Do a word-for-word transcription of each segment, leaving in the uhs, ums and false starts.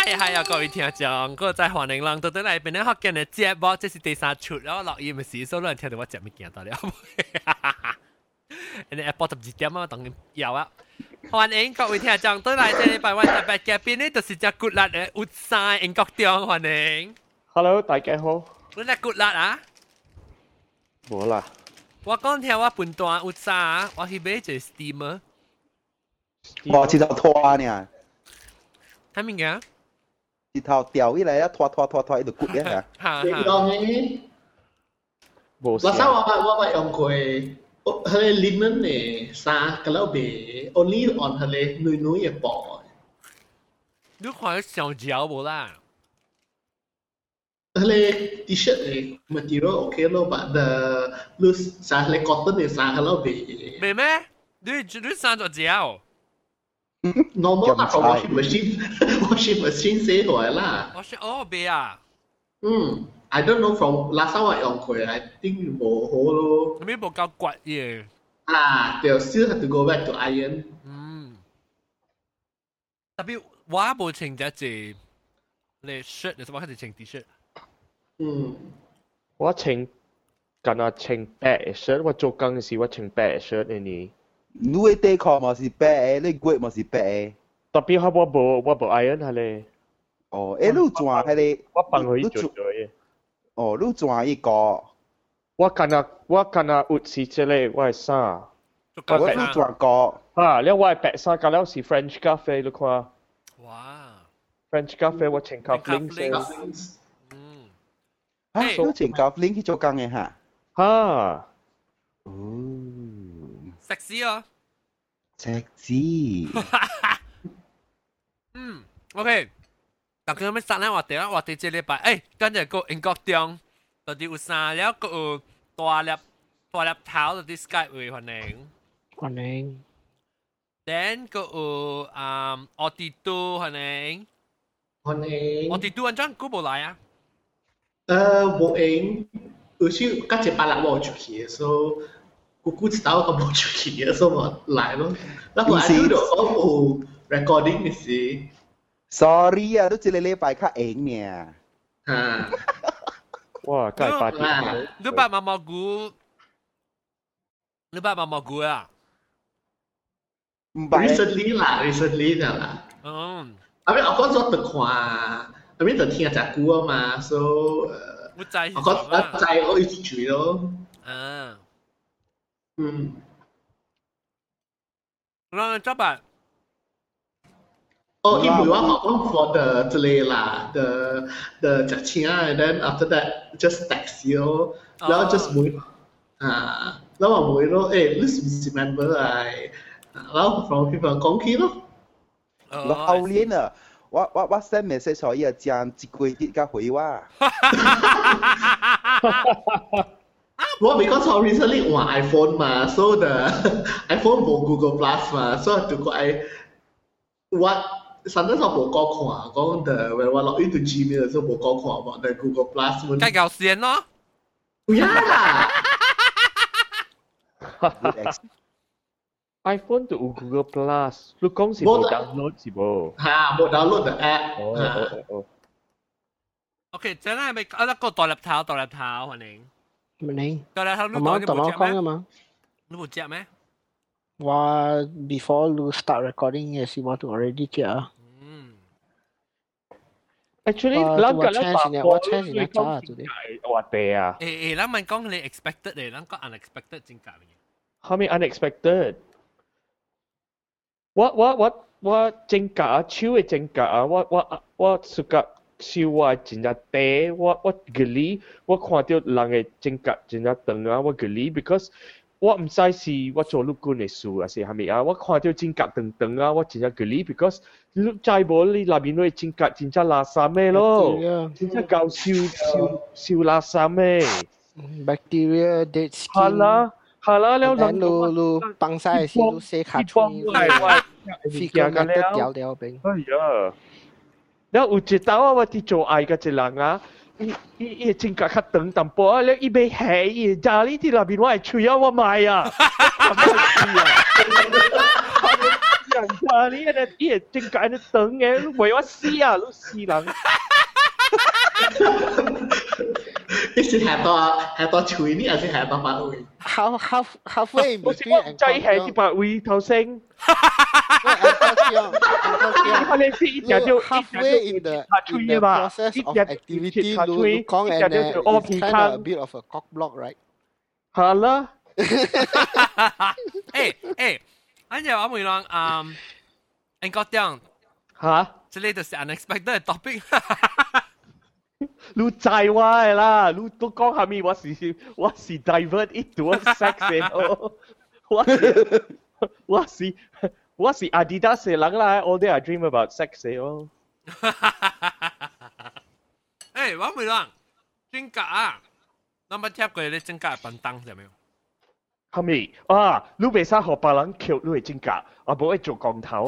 嗨嗨啊！各位聽眾，我在歡迎人到到嚟邊咧學緊嘅節目，這是第三出，然後錄音嘅時，所以人聽到我節目見到了。你 Apple 十二點啊，當然有啊！歡迎各位聽眾到嚟這禮拜我特別嘉賓呢，就是隻骨力嘅活曬英國中，歡迎。 Hello， 大家好。 你隻骨力啊？ 冇啦。 我講聽我半段活曬啊，我去買一個 steamer。 我只頭拖呢。 睇咩嘅？ 一頭掉起來啊，拖拖拖拖，喺度骨嘅嚇。 你講嘅？ 冇。 我想我我我用過，佢哋 linen 嘅衫，咁樣俾 only on 佢哋女女嘅布。 你看上腳冇啦？ 佢哋 T-shirt 嘅 material OK 咯，但係 loose 衫，佢 cotton 嘅衫，咁樣俾。 咩咩？你你衫咗腳 ？normal 那個 washing machine washing machine 寫出來啦。 我是哦，別啊。 嗯 ，I don't know from last time 我用過 ，I think 冇好咯。 咁樣冇夠骨嘅。 啊，就 still have to go back to iron。 嗯。特別我冇穿隻字，你 shirt 你做乜係穿 T-shirt？ 嗯。 我穿，近啊穿白 shirt， 我做工時我穿白 shirt 嘅呢。 你嘅底褲咪是白嘅，你骨咪是白嘅。 特別我我冇我冇 iron 係咧。 哦，誒，你轉係你。 我幫佢做咗嘅。 哦，你轉一個。 我近啊我近啊有時即係我係衫。 我你轉個。 啊，你我係白衫，隔離是 French cafe 你看。 哇 ！French cafe 我穿 cufflinks。 嗯。 啊，你穿 cufflink 去做工嘅嚇？ 嚇。 哦。 sexy 哦 ，sexy 嗯 ，OK， 但係咩殺咧？我哋啦，我哋這禮拜，誒，跟住個英國中，到底有啥了？個有大粒大粒頭，到底 Skype 會歡迎， 歡迎。 then 個有啊，奧迪都歡迎， 歡迎。 奧迪都安裝估冇來啊？ 誒，冇應，有時家姐把laptop冇出去，所以。姑姑知道我冇出去嘅，所以我嚟咯。然後我喺度我有 recording 嘅事。 Sorry 啊，都只你禮拜較硬嘅。 嚇！ 哇，真係八點。 你把毛毛菇，你把毛毛菇啊？ 唔係。 recently 啦 ，recently 就啦。 嗯。 後尾我講咗特看，後尾就聽隻歌啊嘛，所以誒。 我知。我講我知我一直追咯。 嗯。 嗯， 那怎辦？ 哦，因為我好講 for the 之類啦，the the 隻錢啊 ，and then after that just text you，然後 just 每啊，然後我每咯，誒，你是唔是 member 啊？然後 from people 講起咯。 我後年啊，我我我 send message 所以啊，將一個月嘅回話。 Well, because I recently on iPhone 嘛 ，so the iPhone 冇 Google Plus 嘛 ，so 就個 I what sometimes 我冇講看，講 the when 我 log into Gmail 時候冇講看嘛 ，the Google Plus 們。梗係先咯。 呀 ！iPhone 都有 Google Plus， 你講是冇 download 是冇？ 嚇，冇 download the app。 哦哦哦。 OK， 真係咪啊？一個大粒頭，大粒頭，歡迎。 你， 大粒頭你講你冇講嘅嘛？ 你冇接咩？ 我 before you start recording 嘅時，我都 already 接啊。 嗯。 Actually，兩個咧把我 change 你咋做啲？ 話地啊。 誒誒，咱問講你 expected 嚟，咱講 unexpected 真假嘅。 後面 unexpected。我我我我真假啊，超嘅真假啊！我我我暑假。笑話真係地，我我嗰啲我看到人嘅性格真係長啊，我嗰啲 because 我唔使是我做陸軍嘅事啊，是係咪啊？我看到性格長長啊，我真係嗰啲 because 你再冇你那邊嘅性格真係垃圾咩咯，真係搞笑笑笑垃圾咩 ？Bacteria dead skin。 係啦係啦，แล้ว路路放曬時都寫卡出嚟，figure 嘅得掉掉邊。 哎呀！แล้วอุจิตาวว่าที่โจไอกับเจลังอ่ะอีอีอีจริงกับขัดตึงต่ำปอแล้วอีเบย์แห่อีจารีที่ลาบินว่าช่วยว่าไม่อ่ะ人啊！你那你係正解你等嘅，你為我死啊！你死人！ 你是下多下多吹呢，還是下多發威 half half halfway in 我是 between 我 and ใจ係啲白位頭先。佢哋是一隻就 halfway in the in the process of activity lu lu kong and uh, it's kind of a bit of a cock block right 係啦。 誒誒，跟住我問你嗯，英國點嚇？ 這裡就是 unexpected topic。 你知我嘅啦，你都講下面我是我是 divert into sex 嘅，我是我是我是 Adidas 嘅人啦 ，all day I dream about sex 嘅哦。 誒，我問你，真假啊？那麼貼過你真假笨蛋係咪？ 係咪啊？你未使學別人橋，你係真假，我冇去做光頭。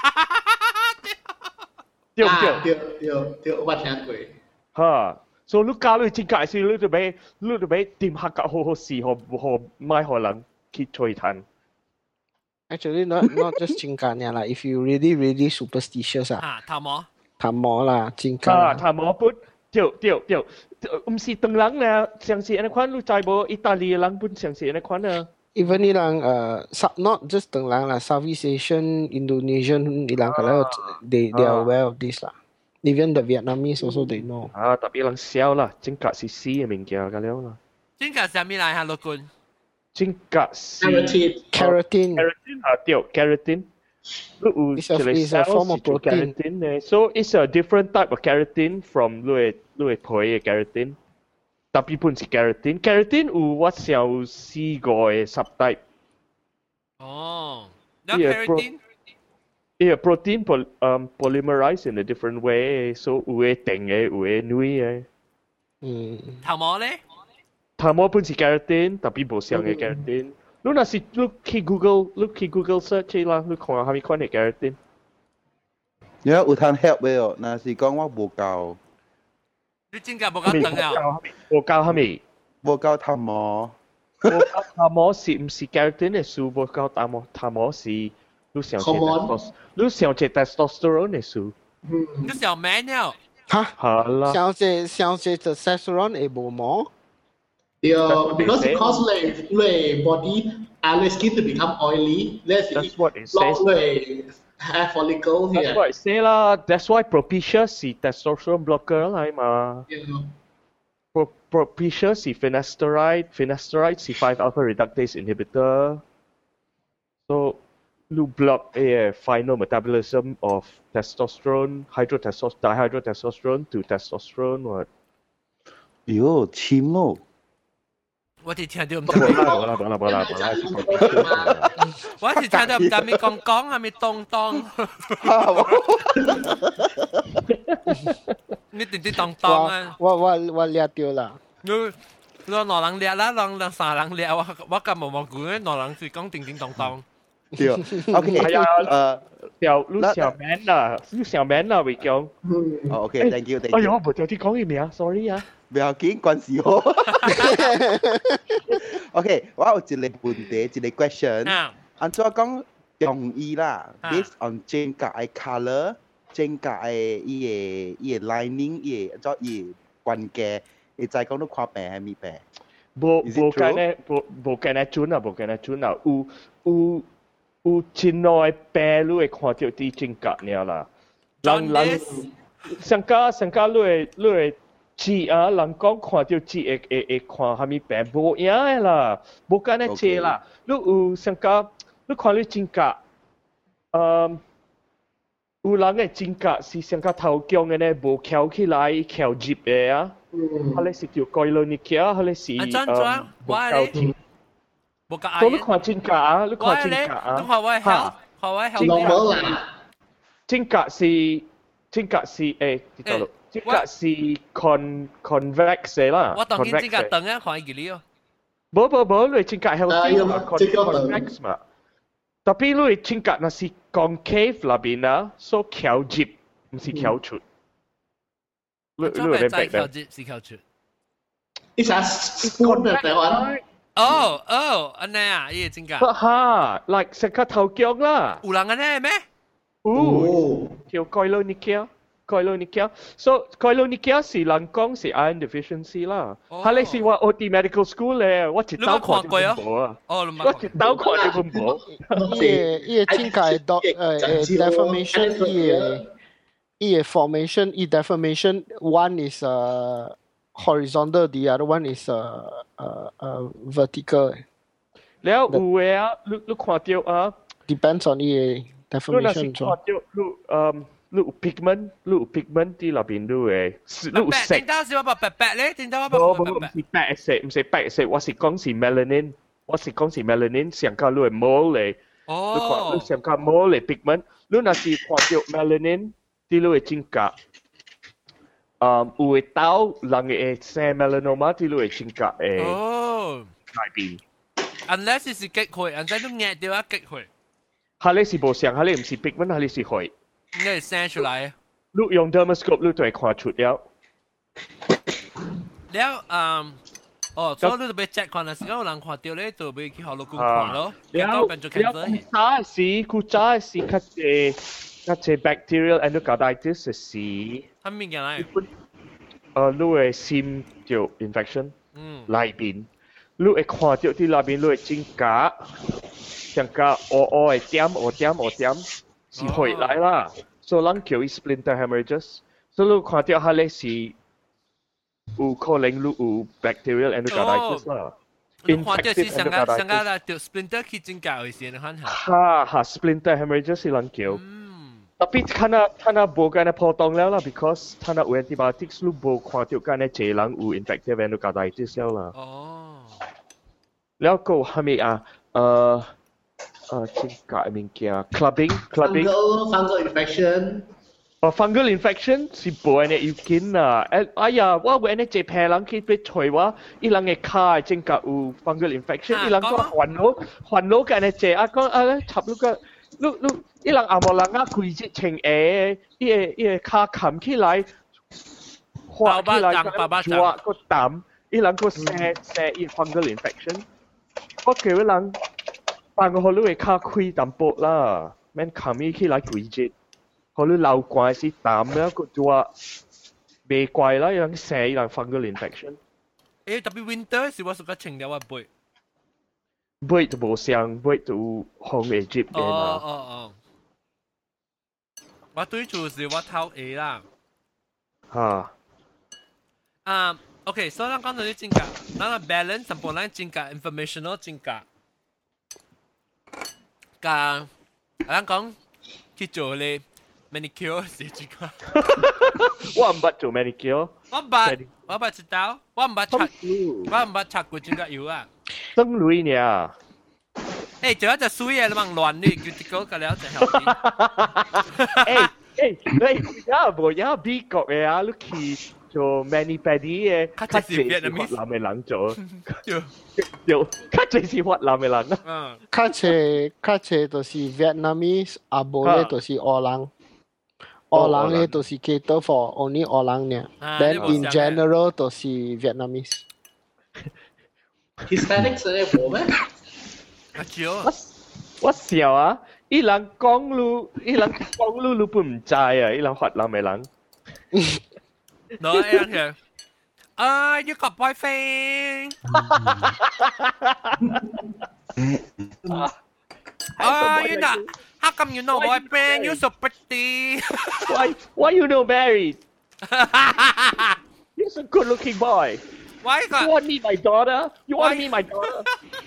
對唔對？ 對對對，我聽過。 嚇，所以你教你真假時，你就俾你就俾點下格好好事，何何買可能去吹彈。 Actually, not not just cingkanya lah. If you really really superstitious 啊， 啊，頭毛， 頭毛啦，cingkan 啊， 啦， 頭毛本，對對對，唔是當人咧，上次安尼款，你知無？意大利嘅人本上次安尼款啊。 even ilang uh sub not just tenglang lah, Southeast Asian, Indonesian ilang kalau they they are aware of this lah. Even the Vietnamese also they know. 啊，特別人少啦，真格是死嘅物件㗎了啦。 真假係咩嚟嚇，陸君？ 真格是 Keratin Keratin. keratin 啊，對 keratin。 It's a, it's a form of protein. Keratin 咧 ，so it's a different type of keratin from 你嘅你嘅皮嘅 keratin。特別本是 keratin， keratin 有我想試過嘅 subtype。 哦，有 keratin。 Yeah, protein poly, um, polymerize in a different way, so 有嘅定嘅，有嘅軟嘅。 嗯， 頭毛咧？ 頭毛本是 keratin，特別無相嘅 keratin。你若是你去 Google，你去 Google search 啦，你看下咩款嘅 keratin。 你有通 help 嘅哦，若是講我無夠， 你真假無夠等啊？ 無夠係咪？ 無夠頭毛， 無夠頭毛是唔是 keratin 嘅樹？無夠頭毛頭毛是你想借 testosterone， 你想借 testosterone 嘅樹。 你小 man 了。 哈， 係啦。 小姐小姐 testosterone 係無毛。 Yeah, because because like like body and the skin to become oily, let's That's what it block says. like hair follicle here. That's what I say lah. That's why Propecia 是 testosterone blocker 嚟嘛。 Yeah. Pro Propecia 是 finasteride, finasteride 是 five alpha reductase inhibitor. So, you block a final metabolism of testosterone, hydrotestosterone, dihydrotestosterone to testosterone. What? 喲，黐咯！ 我哋聽到唔冇知咩， 啦冇啦冇啦冇啦冇啦，是 Propecia。 我哋聽到唔知咩講講係咪當當？你點知當當啊？ 我我我掠到啦。 你你兩人掠啦，兩兩三人掠，我我咁冇冇講，兩人是講叮叮當當。 對，OK， 係啊， 誒， 小你小 man 啊，你小 man 啊，會講。 哦，OK，thank you，thank you。 哎呀，我冇掉啲講嘅名 ，sorry 啊。 唔要緊，關事我。OK，我有一個問題，一個 question。 啊， 按照講容易啦啊 ，based on 整個嘅 colour，整個嘅伊個伊個 lining，伊個按照伊個關鍵，會知講你看病係咪病？ 無 Is it 無 true？ 間咧，無無間咧準啊，無間咧準啊，有有有真耐病，你會看到啲真格爾啦。人人上加上加，你會你會字啊，人講看到字會會會看蝦米病，無影嘅啦，無間咧切啦。你有上加，你看你真格，嗯，有人嘅真格是上加頭強嘅咧，無翹起來，翹接嘅啊。佢哋是叫蓋倫尼基啊，佢哋是啊，裝裝，我咧，冇個所以你看真格啊，你我看真咧， 格啊， 你看我 health，看我 health。 normal 啦。 真格是真格是誒，點講？真格是 con convex 嘅啦， 我當見真假 convex 嘅。 等啊，看佢哩哦。 冇冇冇，你真格 healthy 嘛啊這個等 ，convex 嘛。tapi 你真格那是 concave 那邊啊，所以翹接唔是翹出。你你裝備會明白仔靠接是靠出。 It's a spoon 啊，台灣。 哦哦，安尼啊，伊真假？ 哈 ，like 成個頭腳啦。 有人安尼咩？ 哦，叫蓋洛尼亞，蓋洛尼亞。So 蓋洛尼亞是人講是 iron deficiency 啦。哈，你是話我啲 medical school 咧，我一刀看你唔冇啊。 哦，你我一刀看你唔冇。 伊伊真假誒 dot 誒誒 deformation 伊誒伊誒 formation 伊 deformation one is uh horizontal, the other one is uh uh uh vertical. แล้ว有誒啊，你你看到啊？ Depends on 伊誒 deformation 你看到你嗯。你有 pigment， 你有 pigment 啲入邊都會，你有色。 點解是我白白白咧？點解我白白白白？ 唔是白色，唔是白色，我是講是 melanin， 我是講是 melanin， 上加你係 mole 嚟。 哦。 你看你上加 mole 嚟 pigment， 你若是看到 melanin， 啲你會真假。嗯，有會刀人會生 melanoma， 啲你會真假誒。 哦。 改變。 Unless 是激血，人哋都壓掉一激血。 下你是無上，下你唔是 pigment， 下你是血。 應該係生出來。 你用 dermoscope 你就會看出了。 แล้ว嗯，哦，所以你就俾 check 看啦，時間有人看到咧，就俾去學老公看咯。 แล้วแล้วจ้าสิกูจ้าสิคัดเจคัดเจ bacterial endocarditis สิทำยังไงเออลูกเอซิมเดียว infection ลายบินลูกเอ看到ที่ลายบินลูกเอจิงกะจังกะอ๋ออ๋อเอเตียมอ๋อเตียมอ๋อเตียม是回來啦，所以人叫伊 splinter hemorrhages， 所以你看到下咧是有可能你有 bacterial endocarditis 啦。 你看到是上個上個啦，條 splinter 去真假回事，你看下。 哈哈 ，splinter hemorrhages 是人叫。tapi 睇下睇下無咁樣破洞了啦 ，because 睇下有 antibiotics 你無看到咁樣濟人有 infective endocarditis 了啦。 哦。 แล้วก็係咪啊？誒。Uh, cingkat mungkin clubbing, clubbing. Fungal, fungal infection. Oh, fungal infection si boleh ni mungkin lah. Ayah, wah boleh ni cepet lang kita percaya wah, ilang ni kai cingkat u fungal infection, ilang kau huan lo, huan lo kan ni cepet. Aku ah, cap lu kan, lu lu ilang amal lang aku ije cing eh, ie ie kai kam kilai, huat kilai kan jual kau tam, ilang kau se se ie fungal infection. Kau kira lang. 但我可能會卡開淡薄啦，免卡咪起來攰節，可能流怪是淡啦，個做未怪啦，有人寫有人 fungal infection。 誒，特別 winter 是我屬個清掉啊背。 背就冇上，背就紅嘅接嘅嘛。 哦哦哦。我對住是我頭 A 啦。 嚇。 啊 ，OK， 所以咱講到啲真假，咱個 balance 全部咱真假 informational 真假。噶，咱講去做咧 manicure 是點講？ 我唔捌做 manicure。 我唔捌，我唔捌知道，我唔捌擦，我唔捌擦過真個油啊。 生女呢？ 誒，仲有隻水嘅，你問亂你，叫啲狗個了就後邊。 誒誒，你而家無而家美國嘅啊，你去做 mani pedi 嘅，較濟是越南嘅人做。有，較濟是越南嘅人啊。 較濟較濟就是 Vietnamese， 啊無咧就是俄人。俄人咧就是 cater for only 俄人呢。Then in general 就是 Vietnamese。 Hispanics 咧冇咩？ 阿少， 我我笑啊！伊人講路，伊人講路，你不唔知啊！伊人越南嘅人。 No, ayan here. Ah, you got boyfriend. Ah, you not. How come you know boyfriend? You're so pretty. Why? Why you know married? You're a good-looking boy. Why you got? You want me my daughter? You want me my daughter?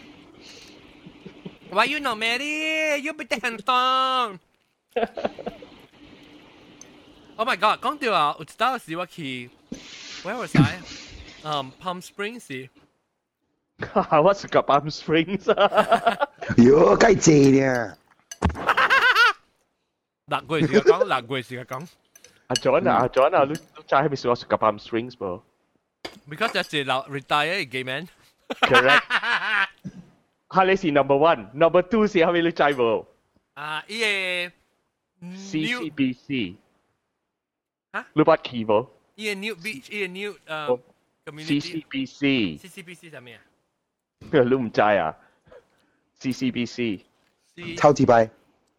Why you know married? You be handsome. Oh my god，講到啊，我知道是我去 ，where was I？ um, Palm Springs 是。 我是個 Palm Springs。 喲，計正呢？ 嗱句時講，嗱句時講。 阿 John 啊，阿 John 啊，你你知係咪我是個 Palm Springs 噃 ？Because 有時老 retire 嘅 man。 Correct。係你是 number one，number two 是係咪你知冇？ 啊，依個 C C B C。 嚇？ 你捌去冇？ 依個 New Beach，依個 New 誒 community。 C C B C。 C C B C 係咩啊你唔知啊 ？C C B C 超级白。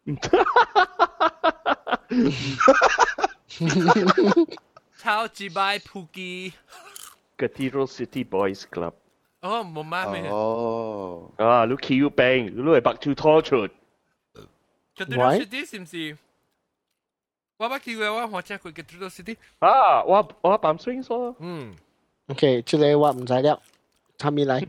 超级白扑機。 Cathedral City Boys Club。 哦，冇乜咩。 哦。 啊，你 Q Bang，你係白住拖出。 Cathedral City 是唔是？我捌去過，我我聽過 Cathedral City。 啊，我我扮 swing 咗。 嗯。 OK，這個我唔知了，他咪來。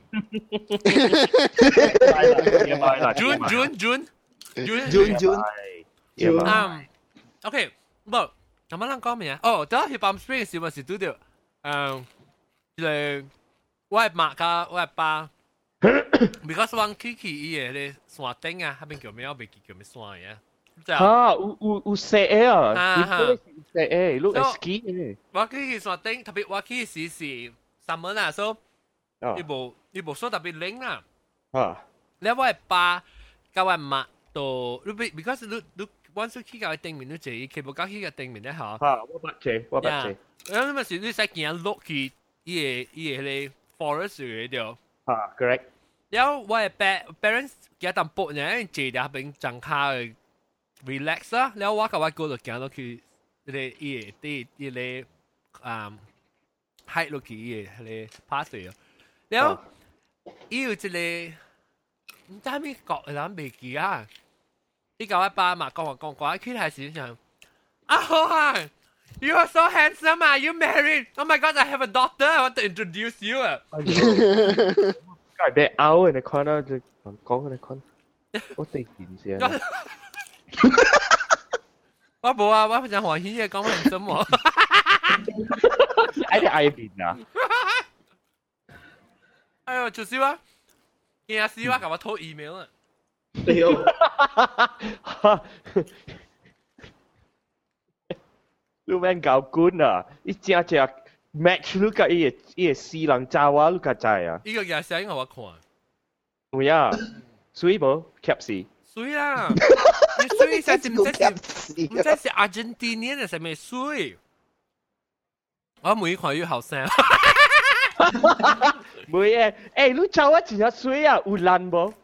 June June June June June June。 嗯。OK，唔，咁乜撚講咩啊？哦，得去 Palm Springs 時咪是拄着，嗯，就係我係媽加我係爸。Because 我去去伊個咧山頂啊，嗰邊叫咩？我未記叫咩山嘅。 嚇，有有有石啊！ 啊哈， 石誒，你係 ski 嘅。 我去去山頂，特別我去時是 summer 啊，所以呢部呢部所特別冷啦。 啊！ 你我係爸加我媽到，你 because 你你 once 去個頂面，你就佢冇搞去個頂面咧嚇。 嚇，我捌借，我捌借。 咁咪是你使見落去伊個伊個咧 forest 嗰度。 嚇 ，correct。 然後我係 parents 幾淡薄呢，坐喺邊張卡去 relax 啦。然後我甲我哥就行落去，嗰個伊個啲伊個嗯 hike 落去伊個嗰個 pathway 咯。然後伊有一個唔知咩國人未記啊。伊甲我爸嘛講話講講，佢係時想啊好啊 ，you are so handsome 啊 ，you married？ Oh my God, I have a daughter. I want to introduce you 啊。 係俾拗人哋看啦，就講人哋看，我哋見先。 我冇啊，我想歡喜嘅講很深喎。 哎，你愛邊啊？ 哎呦，就是話，驚死我，甲我偷 email 啊！ 對哦。 你免搞官啊！你正正 match 你甲伊個伊個死人查話，你甲知啊？ 呢個嘢聲我看。 有啊，水無 cap 死。 水啦，你水實是唔知是唔知是 Argentinian 定係咩水？我每看越後生。 唔會誒，誒你查我真係水啊，有爛無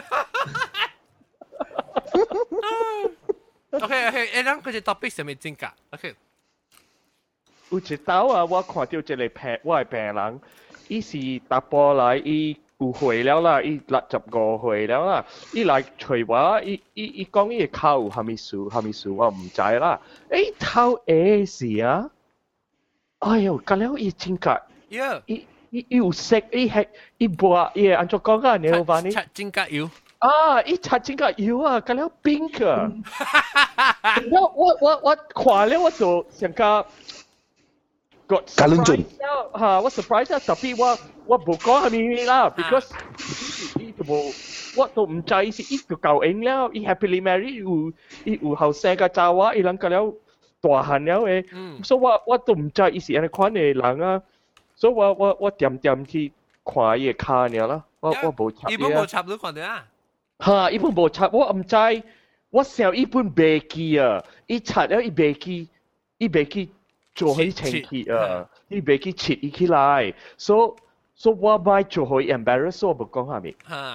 ？OK OK，誒，咱嗰隻 topic 係咪真㗎 ？OK。 有一道啊，我看到一個病，我係病人，伊是打波來，伊有歲了啦，伊六十五歲了啦，伊來找我，伊伊伊講伊個口有蝦米事，蝦米事我唔知啦。誒，頭誒是啊，哎呦，隔了伊真格，伊伊伊有色，伊係伊播，伊按照講啊，你有話你？ 擦真格油。 啊！伊擦真格油啊，隔了冰啊。我我我我看了我就想講。got surprise 嚇，我 surprise 啊！特別我我冇講係咪啦 ，because 伊就冇，我都唔知是伊就夠應了，伊 happily married 有伊有後生個查某，伊人個了大漢了誒，所以我我都唔知伊是安尼款嘅人啊，所以我我我點點去看伊個卡爾啦，我我冇插。 伊本冇插你看到啊？ 嚇！伊本冇插，我唔知，我想伊本未記啊，伊插了伊未記，伊未記。做佢情結啊！伊袂去切伊起來，所所以我咪做佢 embarrass，我冇講下面。 嚇！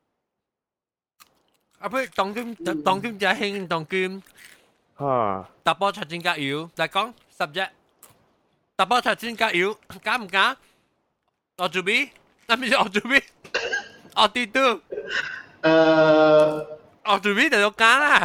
啊不，當今當今就興當今嚇， 打波擦真格油，嚟講 subject，打波擦真格油，假唔假？我做邊？那咪我做邊？我跌到。誒，我做邊就假啦。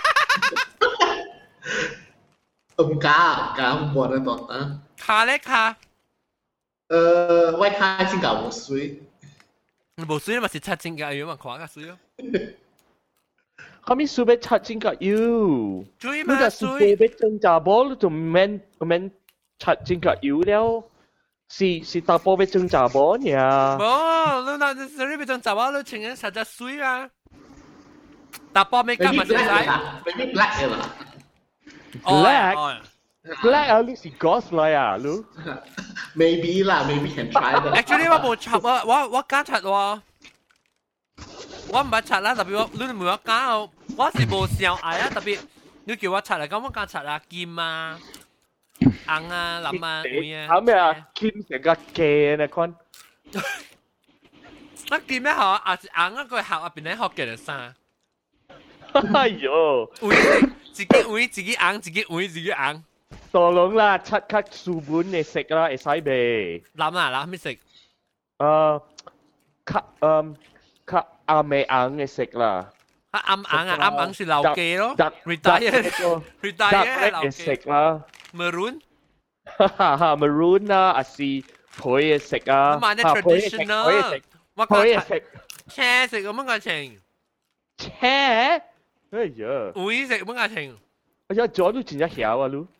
唔假，假唔過得到啊！ 卡咧卡， 誒，我卡真假冇水， 冇水咪是擦真格油嘛，看下水咯。 後面水要擦真格油， 水嘛水。 你要增加波，你就唔免唔免擦真格油了，是是打波要增加波呀。 冇，你那你你要增加波，你情願擦隻水啊。打波咩干嘛？現在 ？Maybe black 嘅啦。 Black, black 啊！你是 ghost 來啊，你 ？Maybe 啦 ，maybe can try 的。 Actually 我冇插啊，我我敢插喎，我唔係插啦，特別我你唔係我敢哦，我是冇上愛啊，特別你叫我插嚟，咁我敢插啊，金啊、紅啊、藍啊、梅啊。 啱咩啊？金成個嘅你看。 我見咩學啊？硬一個學入邊咧學嘅啥？ 哎呦， 自己會自己硬，自己會自己硬。 當然啦，七級書本嘅食啦，會使未？ 諗啦，諗咩食？ 誒，卡誒卡啱未硬嘅食啦。 啊啱硬啊，啱硬是老記咯 ，retire retire 嘅食啦。 maroon， 哈哈哈 ，maroon 啦，啊是配嘅食啊。 我買啲 traditional，我講食， 車食咁樣嘅情。 車？哎呀， 會食咁樣嘅情。 哎呀，咗都真係曉啊，嚕。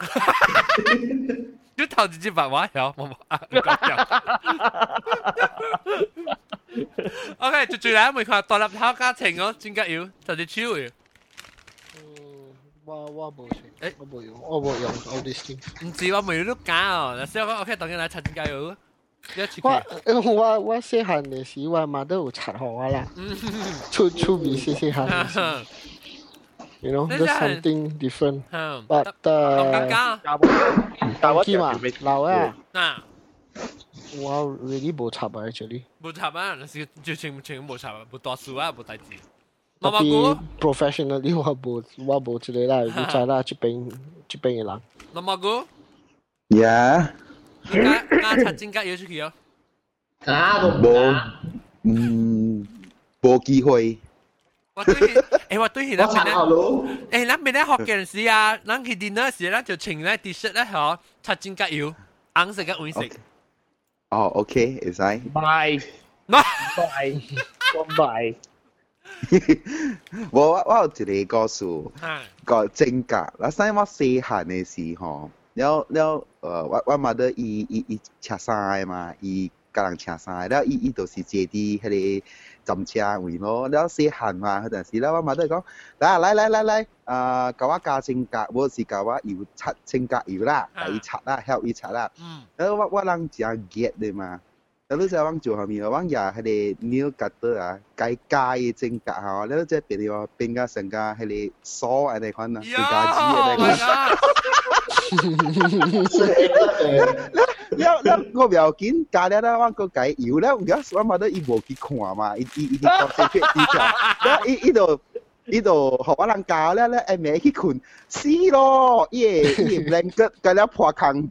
你頭直接白話曉，冇冇啊？OK，就最後每個獨立考家庭哦，點解要就係超嘅？ 嗯，我我冇食，誒，我冇用，我冇用 all these things。 唔知我未都假哦，嗱，所以我 OK，當然嚟查點解要。 我我我細漢嘅時，我媽都有插學我啦，出出面細細漢。You know, that's something different. But uh, 當機嘛，老啊。 啊。 我 really 冇插啊 ，actually。 冇插啊，是就全全冇插啊，冇讀書啊，冇大字。 特別 professionally 我冇我冇之類啦，你知啦，這邊這邊嘅人。 老毛哥。 Yeah。 而家而家插正格要出去哦。 啊， 冇，嗯，冇機會。 我對，誒我對佢那邊咧，誒那邊咧學嘅時啊，咱去 dinner 時咧就請咧 T-shirt 咧嗬，插正格要，硬食嘅會食。 哦 ，OK， 會使。 買，買，我買。 我我我有一個故事，個正格。嗱，細我細漢嘅時候，了了，誒，我我媽都伊伊伊車衫嘛，伊教人車衫，了伊伊就是坐啲迄個。浸車位咯，แล้ว細漢嘛嗰陣時咧，我媽都係講，嗱嚟嚟嚟嚟，誒教我加正格，我是教我要擦正格要啦，第擦啦，help 伊擦啦。แล้ว我我人就 get เลย嘛，แล้วรู้จักว่า做後面ว่าอย่าให้เด nail cutter อ่ะไกลๆ正格嚇，แล้วจะเป็นว่าเป็น個成個係你梳อะไร款啊，เป็น個紙อะไร款。แล้วแล้ว我唔要緊，加了啦，我個解搖咧，而家我媽都伊無去看嘛，伊伊伊啲講正確啲嘅，แล้ว伊伊度伊度學我人教咧咧，誒咪去困死咯，伊個伊個 blanket 加了破坑。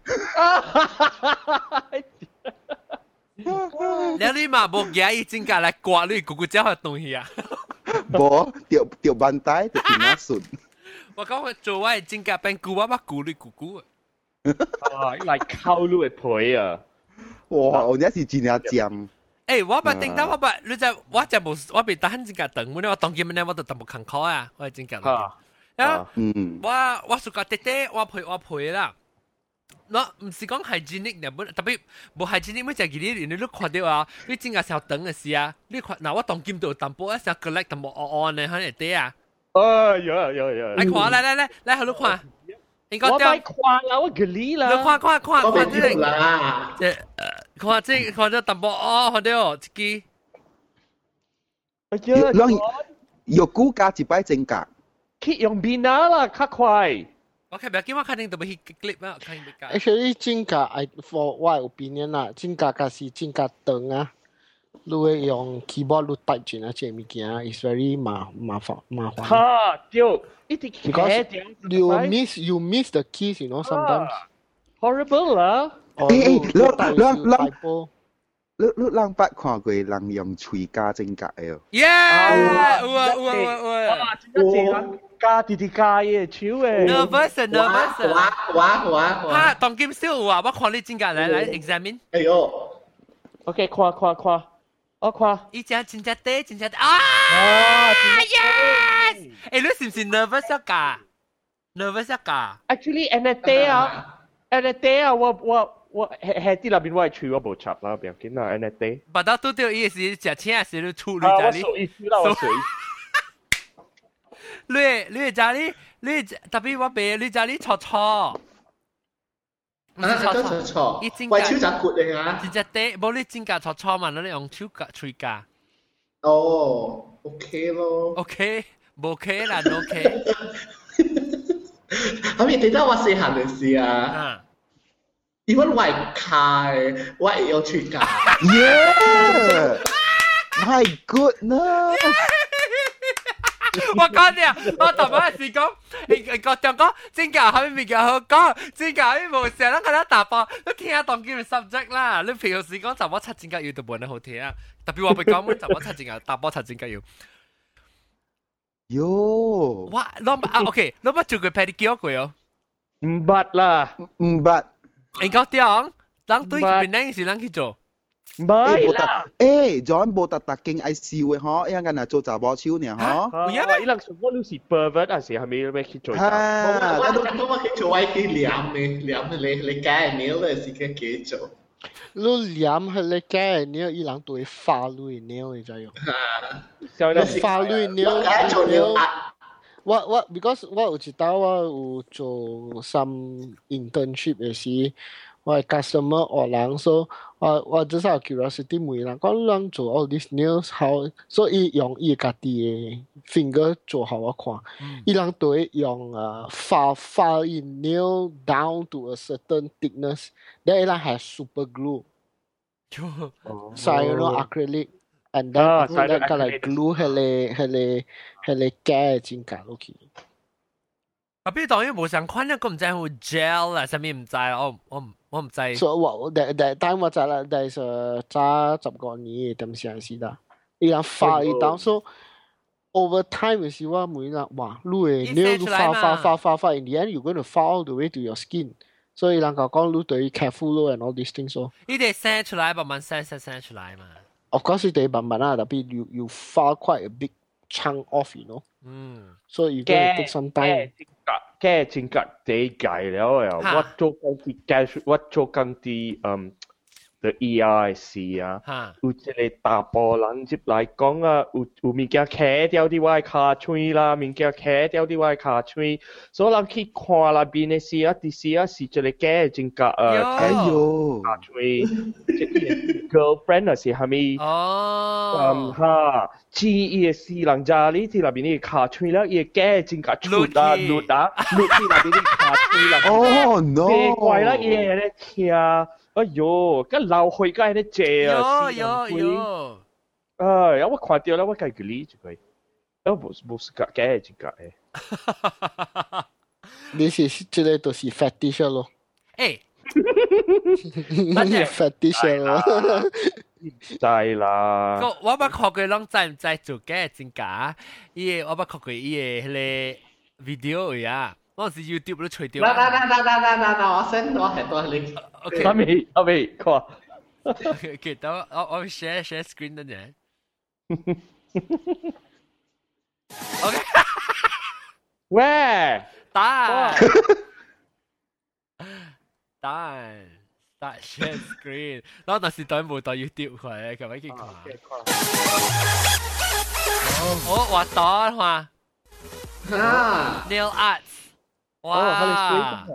แล้ว你嘛冇嘢伊正格來刮你咕咕叫嘅東西啊？ 冇，掉掉bandai就變咗順。 我講佢做我正格變咕，我乜咕你咕咕啊！ 啊，嚟溝你嘅皮啊！ 哇，我真係真係尖。 誒，我咪定得我咪，你就我就冇，我未打正格等，我呢我當見咩我就特冇坎坷啊，我係正格。啊，嗯，我我暑假爹爹我陪我陪啦。我唔是講hygienic嘅，本特別冇hygienic，咩就係佢你都看到啊，你正格時候等嘅事啊，你看嗱我當見到淡薄一時候 collect 淡薄按按嘅喺度爹啊。 啊，有有有。 嚟看，嚟嚟嚟嚟，喺度看。 我咪看啦，我嗰啲啦。 你看看看看這個啦， 即看這看咗淡薄哦，看到自己。 哎呀， 肉骨加一擺正格， 佢用邊啊啦，較快。 OK，不要緊，我肯定都會 clip 啊，肯定會加。 Actually，正格 I for 我 opinion 啦，正格假是正格長啊，你會用 keyboard 你 type 住啊，這物件 is very 麻麻煩麻煩。 哈，對。 Because you miss you miss the keys, you know sometimes. Horrible 啦！ 誒誒，你你你你你捌看過人用喙加正格嘅？ Yeah，有啊有啊有啊！ 啊，真係加啲啲加嘢超誒。 Nervous nervous。 哇哇哇！ 哈，當今少有啊，我看你正格嚟嚟 examine。 哎呦 ，OK，看看看，我看。 依隻正格爹正格啊 ！Yes。誒，你是唔是 nervous 一㗎 ？nervous 一㗎 ？Actually， and a day 啊 ，and a day 啊，我我我係係啲入邊我係處我冇插啦，唔要緊啦 ，and a day。 把到都掉意思，食錢時你處理家裡。 我屬意思啦，我屬意。 你你家裡你特別我俾你家裡錯錯。 啊，錯錯錯。喂，超雜骨嚟啊！ 正格爹，冇你正格錯錯嘛，你用超格喙格。 哦 ，OK 咯。 OK。冇 OK 啦 ，no OK。 咁你記得我細漢嘅事啊？因為我係卡嘅，我係有喙格。 Yeah。 My goodness！ 我講你，我頭晚時講，你個中講真假係咪叫好講？真假係冇成日喺度打波，你聽下當叫 subject 啦。你平時講就我七真假要都冇得好聽啊。特別我咪講咩就我七真假打波七真假要。 喲！ 哇，攞啊 OK，攞乜做佢 pedicure 佢哦？ 唔捌啦， 唔捌。 你講點？人對佢邊時人去做？ 唔係啦。 誒，John 冇特特勁愛笑嘅嗬，因為人做查波超呢嗬。 有啊，伊人全部都是 pervert 啊，是係咪咩去做？ 啊， 我都都我去做 I T 兩嘅，兩嘅你你解你咧是嘅幾做？ 你兩係你解你伊人對法律你會知用。法律你你我我 because 我有知道我有做 some internship 嘅時。我係 customer 學人，所以我我只係 curiosity 問人，講人做 all these nails how，所以用伊家己嘅 finger 做好我看，伊人對用誒 file file in nail down to a certain thickness，then 伊人係 super glue，所以用 acrylic，and then 佢哋個嚟 glue 係嚟係嚟係嚟加真假落去。 啊，比如當然冇相關咧，我唔知係 gel 啊，上面唔知，我我唔我唔知。 所以我第第但我知啦，但係早十個年點先係啦，伊人發伊當所 over time 嘅時候，每人哇，你誒你要發發發發發 in the end you going to fall all the way to your skin，所以人講講你對 careful 咯 and all these things 咯。 你哋生出來慢慢生生生出來嘛。 Of course 你哋慢慢啦，特別 you you fall quite a big chunk off，you know。嗯。所以 you going to take some time。 嘅正格地計了呀，我做緊啲計，我做緊啲嗯嘅 E I C 啊，有即個大波人接嚟講啊，有有物件卡掉啲我卡嘴啦，物件卡掉啲我卡嘴，所以人去看啦邊嘅事啊，啲事啊是即個嘅正格啊， 哎呦， 卡嘴，即係 girlfriend 啊是係咪？ 哦， 嗯哈。知伊嘅私人家呢啲入邊啲卡吹啦，伊嘅正格出啊，錄啊，錄啲入邊啲卡吹啦。 哦 no！ 奇怪啦，伊喺度聽，哎呦，咁流血梗喺度借啊！ 有有有。 啊，有我看到啦，我計佢呢就佢，我冇冇時間嘅正格誒。 你是即係都是 fetish 咯？ 誒， 乜嘢 fetish 咯？ 知啦。 我我捌看過人知唔知做嘅真假？伊個我捌看過伊個迄個 video 啊，我是 YouTube 都吹掉。 嗱嗱嗱嗱嗱嗱嗱，我 send 我係多你。 OK。阿未阿未，看。 OK，等我我我 share share screen 等陣。OK。 喂， 打。打。Start share screen，然後但是對冇對 YouTube 佢，咁樣去看。哦，畫檔嘛，nail arts，哇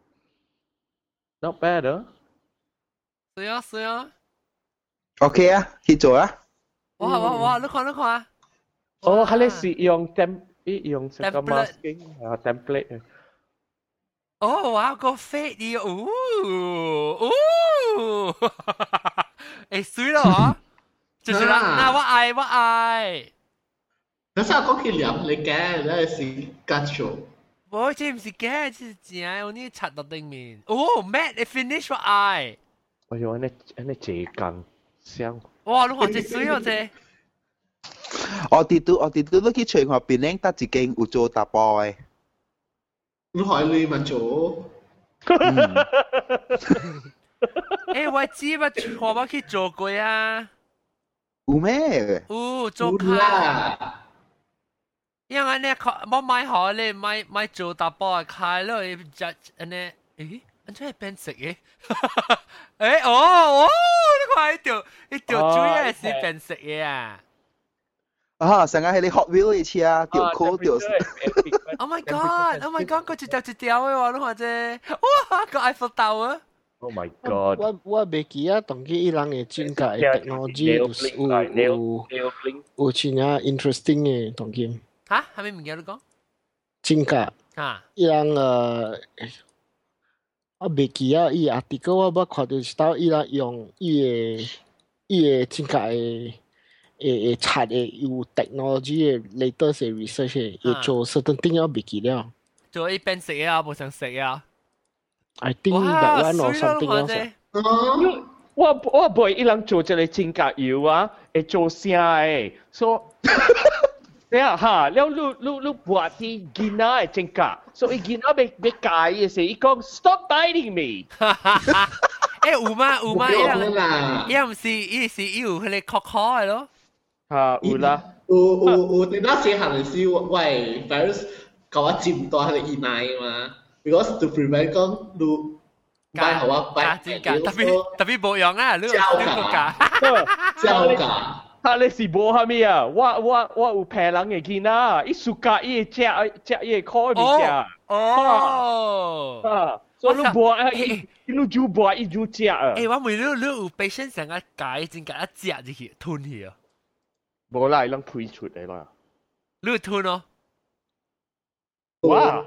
，not bad 啊， 是啊是啊 ，OK 啊，去做啊。 哇哇哇，你看你看。 哦，佢哋是用 temp，用什麼 masking 啊 template。 哦，哇，個 fade 啲，哦哦，誒，水咯嗬，就是啦，嗱，我愛我愛。 嗰時候講佢兩你嘅，你係是假做。 我這唔是假，這是真，我呢擦到對面。哦 ，Matt，你 finish 我愛。 哎呦，你你這更香。 哇，你看這水哦，這。 我哋都我哋都都去隨學邊領得自己有做打波嘅。 你海你咪做。 誒，我知乜錯乜去做過啊？ 有咩？ 有做開。因為呢，我買好咧，買買做打包開咯，就誒呢，誒，安怎係變色嘅？誒，哦哦，你看一條一條水係是變色嘅啊！ 啊，成日喺你 Hot Wheel 嘅車啊，條褲條。 Oh my god! Oh my god! 佢一條一條嘅喎，你看啫，哇，個 Eiffel Tower。 Oh my god！ 我我未記啊，當佢伊人嘅專家嘅 technology 有有有真啊 interesting 嘅當佢。 嚇？係咪唔記得你講？ 專家啊， 伊人誒，我未記啊，伊 article 我捌看到是到伊人用伊嘅伊嘅專家嘅。 誒誒查誒有 technology 嘅 latest 嘅 research 嘅，要做 certain thing 要未記了。 做一邊食啊，冇想食啊。 I think that one or something else。 我我唔會一人做一個指甲油啊，會做聲誒，所以。對啊，哈，แล้วลูลูลูบวชที่กินน่ะจริงกะ so อีกินน่ะไปไปไก่สิอีกอง stop biting me 誒有嗎有嗎一樣一樣唔是伊是伊有迄個殼殼的咯哈有啦有有有你那時行的時候喂 virus 搞我จิ้มตัว迄個耳奶嘛 because to prevent 講你拜好我拜特別特別冇用啊你你個假膠假他你是無蝦米啊？我我我有騙人嘅囡仔，伊暑假伊食食伊烤物件。 哦。 啊，所以你無啊，伊你就無伊就食啊。 誒，我問你，你有 patient 成個解真個一食入去吞去啊？ 無啦，伊啷推出嚟啦。 你有吞哦？ 哇！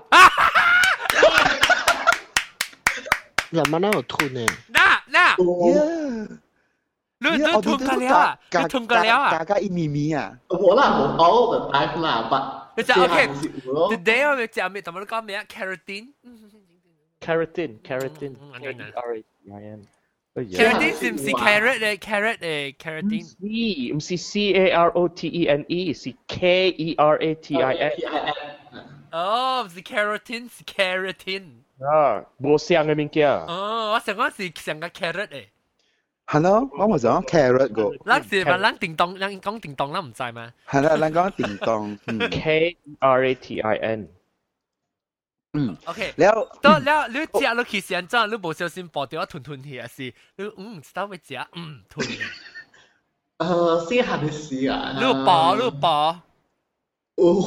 人們哪有吞呢？ 那那。你你吞過了啊？你吞過了啊？ 加加一咪咪啊！ 我啦冇 all the time 啦，but 你就 OK。Today 我哋食咩？同我講咩啊 ？Keratin，keratin，K-E-R-A-T-I-N。Keratin 是唔是 carrot 嘅 carrot 嘅 keratin？ 唔係，唔是 C-A-R-O-T-E-N-E，是 K-E-R-A-T-I-N。 哦，唔是 keratin，是 keratin。 啊，無相嘅物件。 哦，我想講是成個 carrot 嘅。 Hello，我冇講 carrot 個。 咱是咪咱叮當，咱講叮當，咱唔知嘛？ 係啦，咱講叮當。 K R A T I N。 嗯。 OK。 แล้ว到了，你食落去時陣，真你無小心爆掉吞吞去啊！是，你嗯知道要食，嗯吞。 誒，先行嘅事啊。 你有爆，你有爆。 有有有。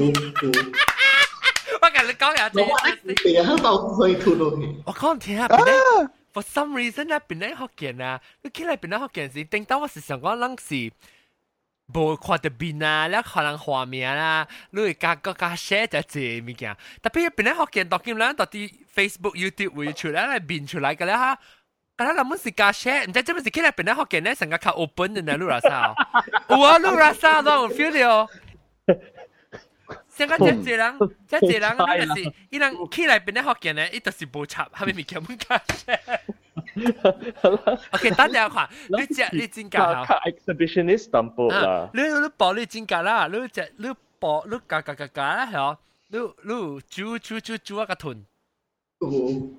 我跟你講下先。我點解到可以吞落去？ 我講聽下邊咧。For some reason 咧，邊咧福建啊，你起來邊咧福建時，頂到我是想講，咱是無看到邊啊，แล้ว可能畫面啦，你會加個加 share 就係物件。特別邊咧福建讀經啦，到啲 Facebook、YouTube 會出來嚟變出來嘅啦哈。咁咱們是加 share，唔知做咩事起來邊咧福建咧成個較 open 嘅呢，你話啥？有啊，你話啥都有 feel 到。成個真濟人，真濟人，那個是伊人起來邊咧福建咧，伊就是無插，係咪物件冇加 share？ OK， 等下看，你食你真假好。 exhibitionist 淡薄啦。 你你包你真假啦，你食你包你夾夾夾夾啦，係哦。你你煮煮煮煮一個吞。 我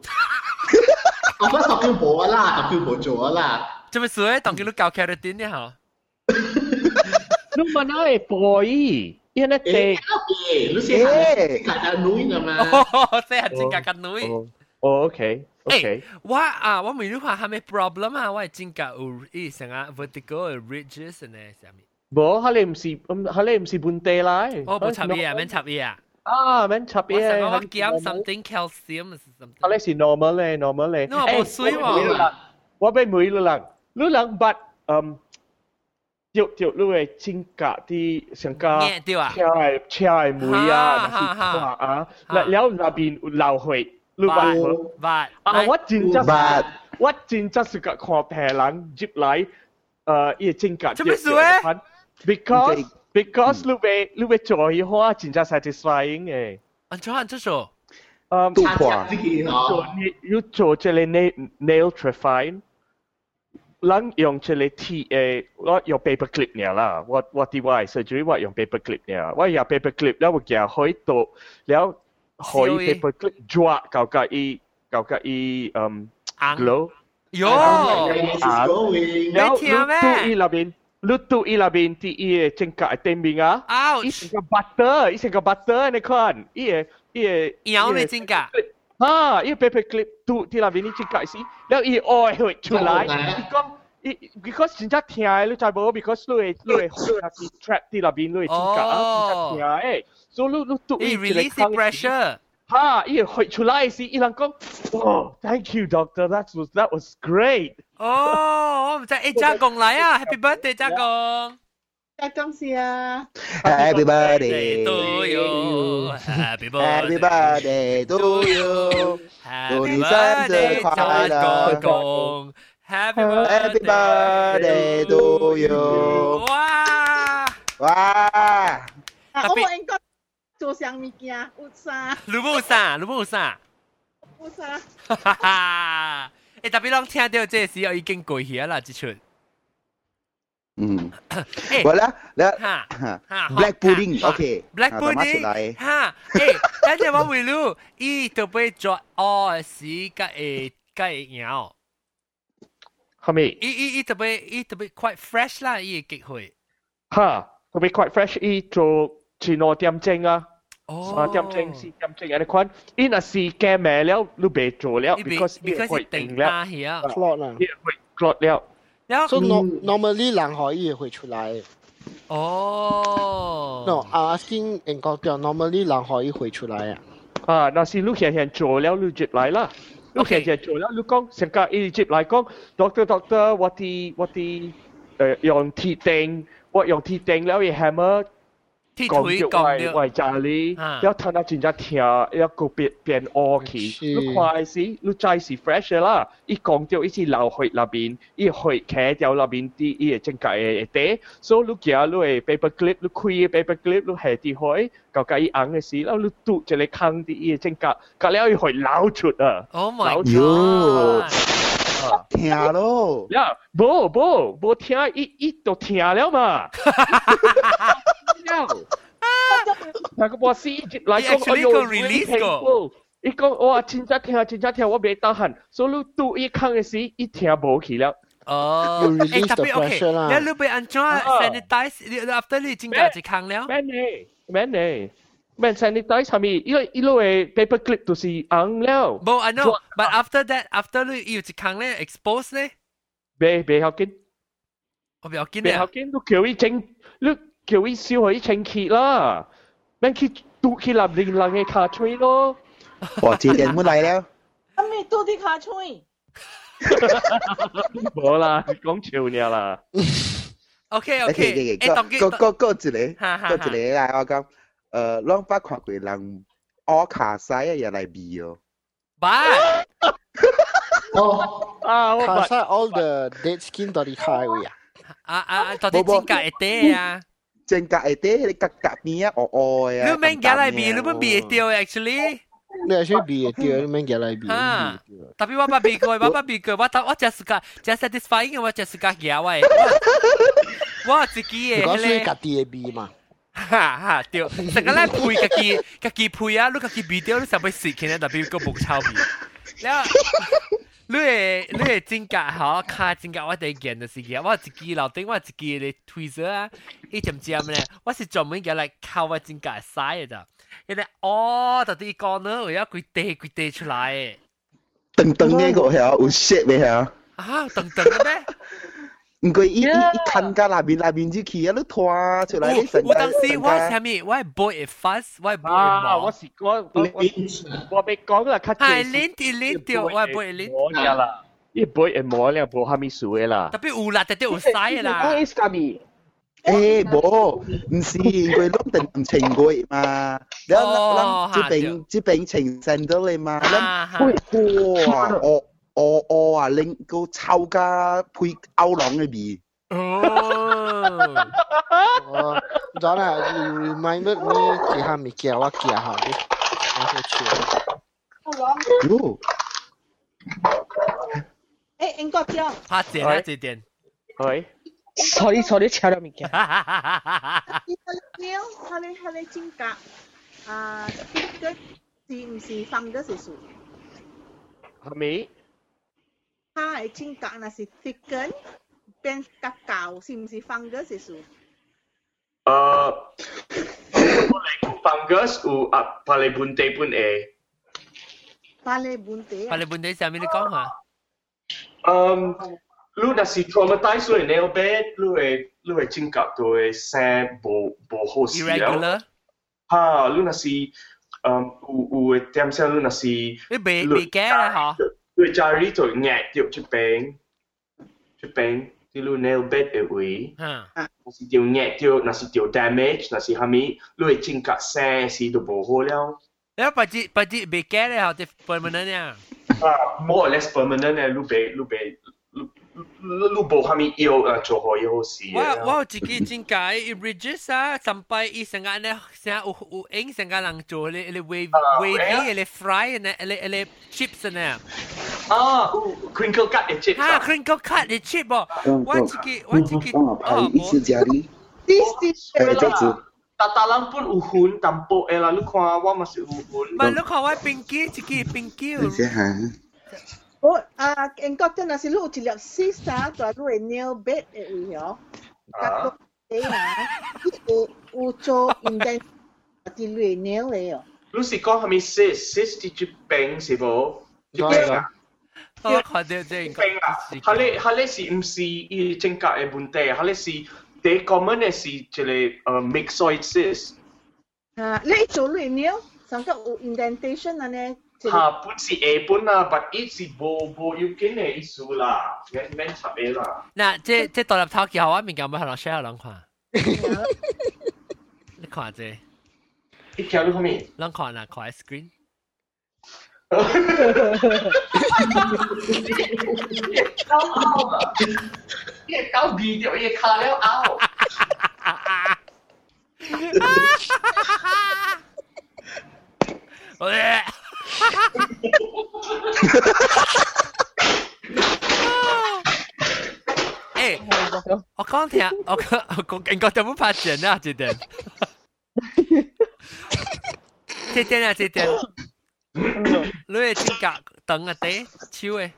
覺得特別冇啦，特別冇做啦。 做咩事？當佢你教 keratin 呢？嚇？ 你問下係 boy。因為誒，你先係格格女㗎嘛？ 哦，先係真格格女。 哦 ，OK，OK。 我啊，我問你話係咪 problem 啊？我係真格有伊成啊 vertical ridges 呢？係咪？ 冇，佢哋唔是，佢哋唔是本地啦。 哦，冇插嘢啊，免插嘢啊。 啊，免插嘢。 我成個我減 something calcium 是 something。 佢哋是 normal 咧 ，normal 咧。 我冇水喎。 我俾每個人，你人不嗯。就就你會真格啲上加車係車係梅啊，是花啊，แล้วแล้ว那邊流血，你話話啊，我真真我真真是個看平人接來，誒，伊真格。 做咩事咧 ？Because because 你會你會做嘅話，真真 satisfying 嘅。 安怎安怎做？ 誒， 杜華， 做你要做這個 nail nail trephine。咱用這個 T 誒，我用 paper clip 呢啦，我我啲我係 surgery 我用 paper clip 呢，我用 paper clip แล้ว我夾開到，แล้ว開 paper clip 抓搞個伊搞個伊嗯 glow， 喲， แล้วตู้伊那邊，你ตู้伊那邊啲伊正格係對面啊，伊成個 butter，伊成個 butter 你看，伊誒伊誒， 搖你正格。 啊！依個 paper clip ดูที่เราวินิจฉัยสิแล้วอีอ้อยเหย出來อีก็อี because 真正聽你知冇 because 你你你 trap ที่เราวิน你真正啊真正聽誒 so 你你ดูอี release pressure 哈อีเหย出來สิอีหลังก็ oh thank you doctor that was that was great 哦我唔知誒家公來啊 happy birthday 家公恭喜啊 Happy birthday to you Happy birthday to you 祝你生日快樂公 Happy birthday to you 哇哇！ 啊，我冇應該做上物件，有啥？ 你冇啥，你冇啥。 有啥？ 哈哈哈！誒，特別當聽到這時候已經過去啦，這出。 嗯，我啦，啦， 哈哈 ，Black Pudding，OK，Black Pudding，哈，誒，但係我會รู้伊就被做哦時個誒個樣。 係咪？ 伊伊伊特別伊特別 quite fresh 啦，伊嘅機會。 嚇，特別 quite fresh，伊做全攞點正啊！ 哦， 三點正四點正有啲款，伊若是驚咩了，你別做了 ，because because 定啦係 clot 啦， 伊會 clot 了。 So normally 人可以會出來。 哦。 No, I'm asking 英國嘅 normally 人可以會出來啊。 啊，那是你現現做了，你接來啦。你現現做了，你講成個伊接來講 ，doctor doctor，我啲我啲誒用鐵釘，我用鐵釘了，伊 hammer。講着為為家裡，要睇下真正聽，要個變變惡氣。你快時，你再是 fresh 啦。伊講着伊是流血那邊，伊血開掉那邊啲伊嘅正解嘅啲，所以你行你嘅 paper clip，你開嘅 paper clip，你下啲血，搞搞伊硬嘅時，然後你嘟一個坑啲伊嘅正解，隔了伊血流出啊！ Oh my god！ 聽咯， 呀，冇冇冇聽，伊伊都聽了嘛。那個博士來講，哎呦 ，release 個，伊講哇，真正聽，真正聽，我未得閒，所以你拄伊坑嘅時，伊聽無去了。 哦，誒特別 OK，你你被安怎 sanitize？你 after 你真正一坑了？ 免呢，免呢，免 sanitize 係咪？因為伊攞嘅 paper clip 都是硬了。 冇 I know，but after that，after 你有一坑咧 expose 咧， 未未要緊， 我未要緊未要緊，你叫伊整，你。叫伊燒佢清潔啦，免去嘟去立令人嘅卡吹咯。 哇！這點冇嚟了。 咁你嘟啲卡吹？ 冇啦，講笑嘢啦。 OK OK， 誒，個個個一個，個一個嚟，我講，誒，啷捌看過人屙卡西啊，又嚟味哦。 爸。 哦，啊，卡西 all the dead skin 到底開位啊？ 啊啊，到底真假一啲啊？ 正格係啲，你格格邊啊，我愛啊！ 你免夾嚟比，你免比掉 actually。 你係先比掉，你免夾嚟比。 啊！特別我冇比過，我冇比過，我我只是個只 satisfying，我只是個夾喂。我自己嘅。 嗰時家己嘅比嘛。 哈哈，掉！成個咧配家己家己配啊，你家己比掉，你上邊蝕錢咧，特別個冇抄比。แล้ว你係你係真格嚇，卡真格我哋見就是嘅，我自己樓頂我自己嘅推車啊，一點尖咧，我是專門嘅嚟靠我真格曬嘅咋，因為哦，到底講呢，我要佢地佢地出來嘅， 噔噔嘅個係有 shit 嘅係啊， 啊噔噔嘅咩？ 唔過一一一看架那邊那邊就去啊，你拖出來你成我當時我係咩？我係 boy 嘅 fast，我係 boy 嘅毛。 我是我我我未講啦，卡。 係鏈條鏈條，我係 boy 鏈。 我呀啦，呢 boy 嘅毛咧冇蝦米數嘅啦。 特別有啦，特別有曬啦。 我係蝦米？ 誒冇，唔是佢攞定唔情佢嘛？你諗這邊這邊情聖到你嘛？諗哇我。哦哦啊，令個臭家配歐朗嘅味。 哦，咗啦 ，reminded me 幾下咪叫我叫下啲，我去笑。 喲， 誒，英國椒。 拍點啊，這點。 係。 sorry sorry，炒咗物件。 椒，佢哋佢哋真格啊，啲是唔是放嘅是數？ 係咪？ 它係真格，那是 thicken 變較膠，是唔是 fungus 是數？ 誒，fungus 有啊，巴黎本地本誒。 巴黎本地。 巴黎本地上面你講下。 嗯，你若是 traumatize 你 nail bed，你會你會真格就會聲無無好事了。 irregular。 嚇，你若是嗯有有嘅點聲，你若是。 你未未驚啦嗬？ 佢家裡就壓掉出邊，出邊啲路 nail bed 嘅位，那是掉壓掉，那是掉 damage，那是蝦米，你會整格聲時都冇好了。 แล้วปฏิปฏิเบเกอร์เลยเหรอจะ permanent เนี่ยอ่า more or less permanent เนี่ยลูกเบลูกเบลูกลู你无虾米药啊，做好以后事。 我我有自己真解 ，Bridges 啊，三拜伊成日咧，成日有有影成日人做咧咧 wave wavy 咧 fry 咧咧咧 chips 咧。 啊 ，crinkle cut 嘅 chip。 啊 ，crinkle cut 嘅 chip 哦，我自己我自己哦，意思家里。 This is 誒，這子。 但但人本有痕淡薄誒啦，你看我嘛是有痕。 唔係，你看我冰機自己冰機。 你先嚇。 我啊，英國真係是錄一粒絲啊，在錄嘅 nail bed 嘅位哦，甲個誒啊，有有做 indent 啲錄 nail 嘅哦。 你是講係咪 sis sis 啲住病是無？ 係啊，我看到這個病啊，佢咧佢咧是唔是伊正格嘅問題？佢咧是第 common 嘅是一個誒 myxoid cyst。 啊，你做錄 nail，上個有 indentation 啊呢？ 嚇，本是 A 本啊，但係是無無要緊嘅意思啦，免免插嘅啦。 嗱，即即獨立頭叫我物件，要向人 share 人看。你看這， 你條你看咩？ 人看啊，看 screen。 搞拗啊！你搞 video，你卡了拗。 我誒，我講聽，我講我講，應該點樣發現啊？這點，這點啊，這點，你係真格等啊地，超誒，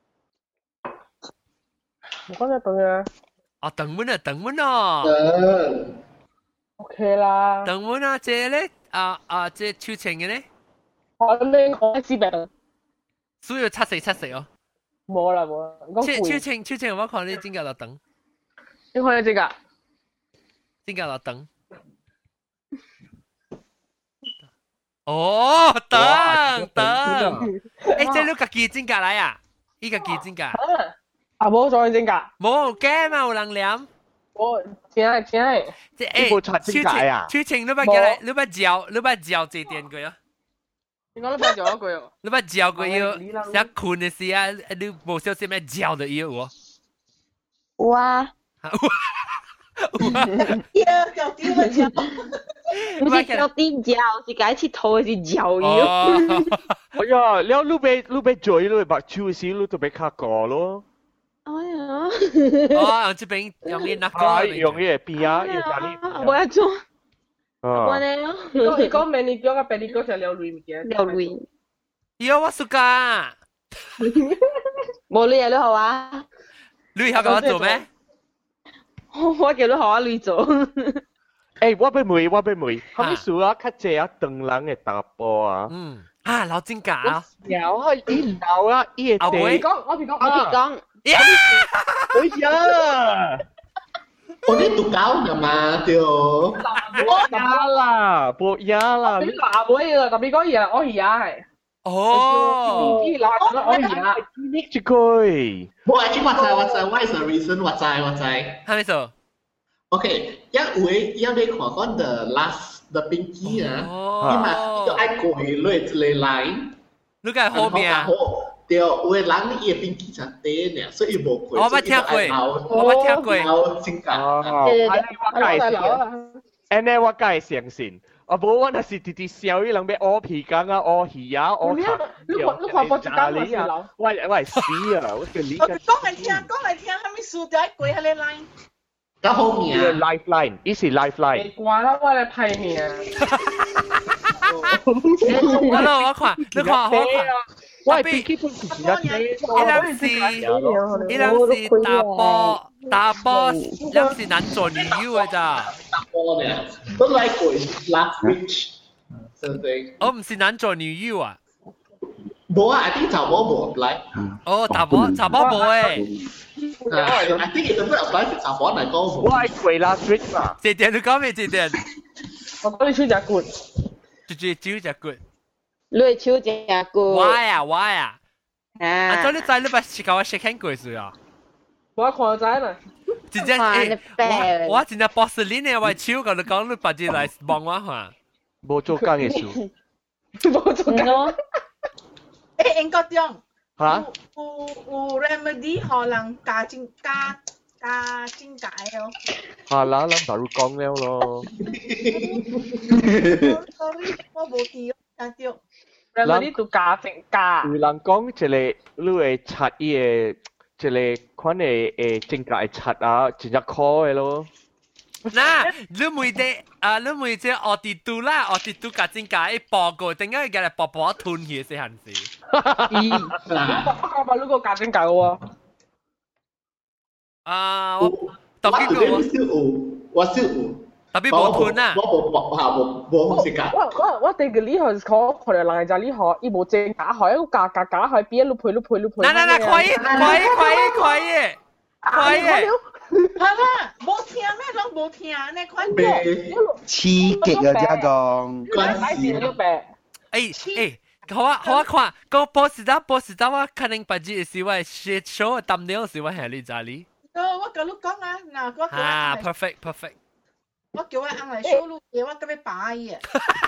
我講咗等啊， 哦等門啊，等門哦， 等 OK 啦， 等門啊，這咧啊啊，這超情嘅咧， 我你講知病， 需要七四七四哦。 冇啦冇啦，講超超攰， 清超清，我看你真格落等， 你看你這個， 真格落等。哦，等等，誒，即係你家己真格嚟啊？呢個記真格？ 啊冇再真格， 冇驚嘛，有人念。 我真係真係， 即係冇查真格啊？ 超清，你把叫嚟，你把照，你把照字電佢啊？ 你講你幫咗一句哦。 你把照佢要想困嘅時啊，你冇小心咩照就要喎。 哇！ 呀，搞掂啦照。 唔是叫啲照，是解切肚是照要。 哎呀，แล้วลูกไปลูกไปจ่อยลูกบักชูสิลูกตัวไป卡ก่อ咯。 哎呀！ 哦，用這邊用呢那個。 用呢個邊啊，要加呢。 冇一種。 我呢？ 你講明你講個俾你講就撩亂嘅。 撩亂。 有我暑假。 冇你嘢都好啊。 你有講做咩？ 我叫你學啊，你做。 誒，我俾妹，我俾妹，後尾數啊，較濟啊，長人嘅打波啊。 嗯。啊，老真假啊！ 有啊，伊有啊，伊個地。 我講，我講， 我講。 哎呀！ 我呢讀搞㗎嘛，對。 冇呀啦，冇呀啦。 你話冇嘢啦，特別講嘢，我而家係。 哦。 呢嗱，我而家。 呢句。 冇，actually 我知我知，what is the reason？我知我知。 係咪做 ？OK，一會要你看講 the last the pinky 啊，因為要愛過去落一個 line。 你個係後面啊？ 對，有的人伊個 pinky 就短呢，所以無過。 我捌聽過，我捌聽過。 有真假。 哦，我介紹。安尼我介相信。啊，無我那是直直笑，伊人要屙皮缸啊，屙魚啊，屙茶。 你看你看波子間咪啊？ 我我係死啊！我叫你。 講嚟聽，講嚟聽，係咪輸掉過喺你 line？ 到後面啊 ，lifeline，呢是 lifeline。 你掛啦，我嚟批你啊！ 我咯，我看，你看好看。 我係基本是一啲。 伊人是，伊人是打波，打波，伊人是男做女優嘅咋？ 打波呢，都來過 last week，對唔對？ 我唔是男做女優啊。 冇啊 ，I think 查波冇 apply。 哦，查波查波冇誒。 I think 佢都 apply 係查波嚟講冇。 我係過 last week 嘛。 這點你講咩？這點？ 我講你手隻骨， 就就手隻骨。 你手隻骨。 我呀我呀。 啊！ 啊，咁你知你把是教我 shake hand 過是啊？ 我看就知啦。 真正誒，我我真正 boss 你呢？我手個你講你把隻來幫我下。 冇做工嘅事。 冇做工。 誒，英國中， 嚇？ 有有 remedy 可能加精加加精解哦。 嚇啦，咱大陸講了咯。 sorry，我冇記，但係。 remedy 都加正加。 有人講一個你會刷伊個一個款嘅誒正價嘅刷啊，真正khó嘅咯。 嗱，你每隻啊，你每隻我哋讀啦，我哋讀加正價一報告，點解佢嚟薄薄吞去先行事？ 咦，我講呢個加正價喎。 啊，我特別個我少有，我少有。 特別冇吞啊！ 我冇冇嚇冇冇好食㗎。 我我我哋嘅呢行可可能人就呢行，伊無正假海，一個價價價海邊一路配路配路配。 嗱嗱嗱，可以可以可以可以可以。 係啦，冇聽咩都冇聽，你快啲。 刺激啊！這講。 關事了唄。 誒誒，好啊好啊，看個 boss 仔 boss 仔我可能把這是我 shit show 抌掉是我係你咋哩？ 我我跟你講啊，嗱我啊 perfect perfect。 我叫我翁嚟 show 路嘢，我咁樣擺嘅。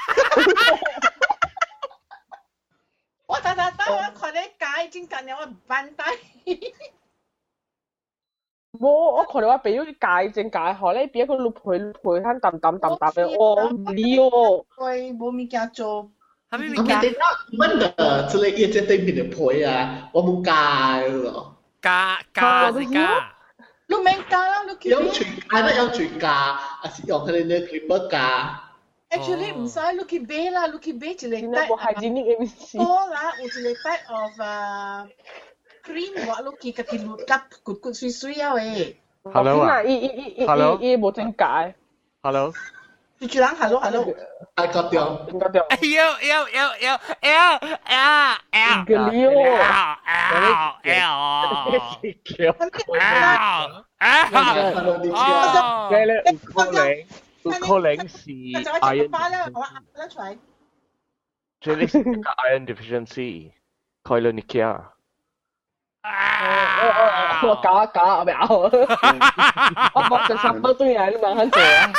我等等等，我看你解正緊，我唔辦低。 冇，我看到我俾咗啲解正解海咧，俾一個路陪路陪攤揼揼揼揼嘅，我唔理哦。 喂，冇物件做。 係咪物件？乜嘅？即係一隻對面嘅陪啊，我冇加咯。 加加是加。 你明加啦，你有全，係啦，有全加，啊是用佢哋嘅 clipper 加。 Actually 唔使 Lucky Bay 啦 ，Lucky Bay 就嚟帶。我係指呢個意思。 多啦，有就嚟帶 of 啊 cream 話 Lucky 嘅片碌夾骨骨碎碎啊喂。 Hello 啊。 伊伊伊伊伊冇正解。 Hello。 住住人 hello hello。 I got you。 got you。 L L L L L L L。 個料。 L L。啊！ 你咧五個零，五個零是 iron deficiency。這裡是 iron deficiency，快樂尼基亞。 我搞搞咩啊？我冇食十蚊都嘢，你問肯做啊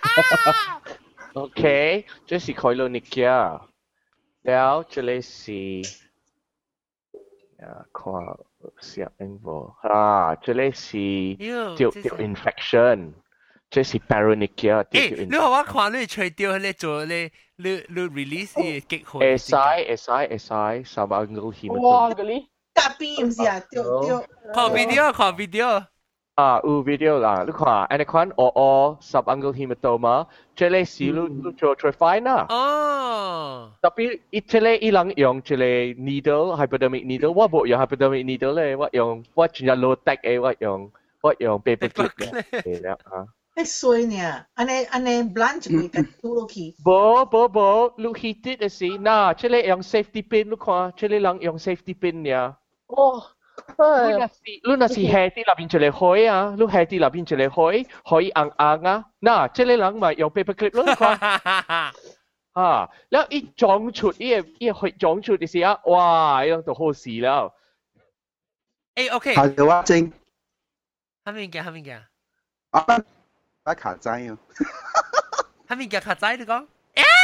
？OK，這是快樂尼基亞，แล้ว這裡是啊，看。siap info. Ha, 這裡是掉掉 infection， 這是 paronychia 掉掉 infection。 你話我看你吹掉你做你你你 release 嘅激活。 會使會使會使 subungual hematoma。 哇，嗰啲隔邊唔是啊，掉掉。 看 video 看 video。 啊，有 video 啦，你看，安尼款哦哦 subungual hematoma， 這裡是你你做最 fine 啦。 哦。 特別伊這裡伊人用一個 needle hypodermic needle， 我冇用 hypodermic needle 咧，我用我真係 low tech 嘅，我用我用 paper clip 嘅，係啦嚇。 你衰呢？安尼安尼 blanch 會緊吐落去。 冇冇冇，你 heated 嘅事，嗱，這裡用 safety pin，你看，這裡人用 safety pin 呀。 哦。 你那是你那是下啲入邊就嚟開啊，你下啲入邊就嚟開，可以硬硬啊。嗱，這裡人咪用 paper clip 咯，你看。啊，แล้วอีจองชุดอีอีจองชุดดิสิอ่ะว้ายังตัวโหสีแล้วเอ้โอเค係嘅話正係咪嘅係咪嘅啊啊卡仔啊係咪嘅卡仔你講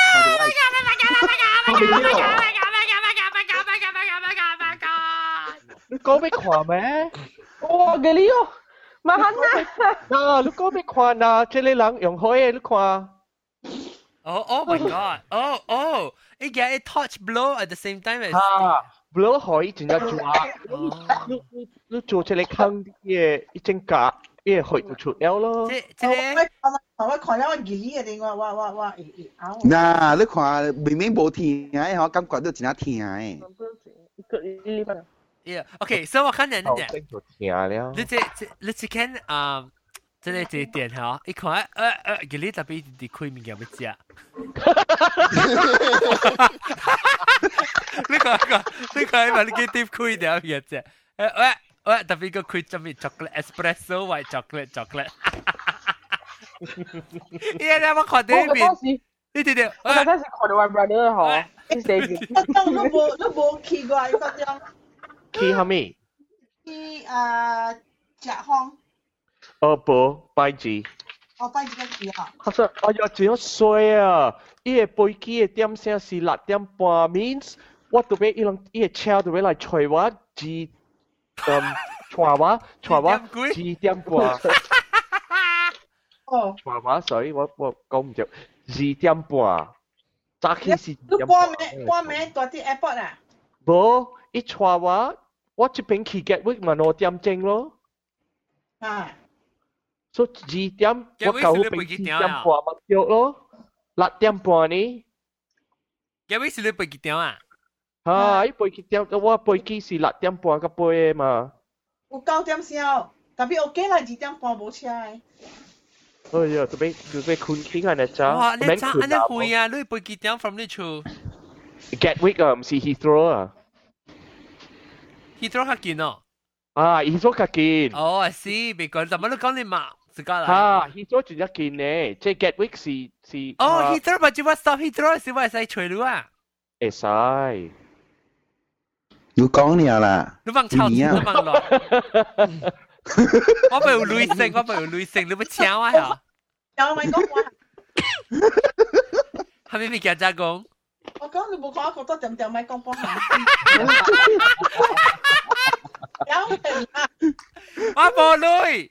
你講俾看咩哇嘅呢個麻煩啊嗱你講俾看啊這裡人用開嘅你看 Oh, oh my god. Oh, oh. It get a touch blow at the same time as... Ha, blow 可以真係抓。你你你做出嚟坑啲嘢，一整格嘢去到出了咯。 即即我我看了我二二嘅，我我我我咬。 嗱，你看明明冇聽嘅，我感覺到真係聽嘅。 Yeah, okay, so 我看人哋。 就聽了。 你這這你只看啊？真係這點嚇，一看誒誒，佢呢特別啲開面嘅乜嘢？呢個個呢個係咪你幾點開嘅乜嘢啫？誒喂喂，特別個開咗咩 chocolate espresso white chocolate chocolate。依家我看呢邊，呢啲啲， 我嗰陣時看到我 brother 嗬，啲死嘅。都冇都冇奇怪嗰種。 奇係咩？ 奇啊，甲康。 哦不，拜字。 哦，拜字個字啊。 其實哎呀，真衰啊！伊個飛機嘅點聲是六點半 ，means 我特別伊人伊個車特別來催我， 几嗯，传话传話幾點半？ 哦， 傳話，sorry，我我講唔着，二點半。早起是你半暝半暝大啲 airport 啊？ 無，一傳話，我這邊去 Gatwick 嘛兩點鐘咯。 啊。 所以二點我到嗰邊四點半咪着咯，六點半呢？ Gatwick 是你飛幾點啊？ 嚇，伊飛幾點？我飛機是六點半到八個嘛。 有九點鐘，特別 OK 啦，二點半冇車誒。 哎呀，準備準備困傾啊！你咋？ 哇！你咋？你會啊？你飛幾點 from 你厝 ？Gatwick 啊，唔是 Heathrow 啊。 Heathrow 較近哦。 啊 ，Heathrow 較近。 哦，I see，別講，怎麼都講你嘛？自家啦。 嚇 ，Heathrow 最一近呢，即係 Gatwick 是是。 哦 ，Heathrow 咪就話 stop Heathrow 是話使隨路啊？ 會使。 你講你啦。 你忘抄字，你忘落。我咪有雷聲，我咪有雷聲，你咪搶我呀？ 有咪講話？ 係咪咪叫咋講？ 我講你冇講，我覺得點點咪講幫下。有人啊！ 我冇雷。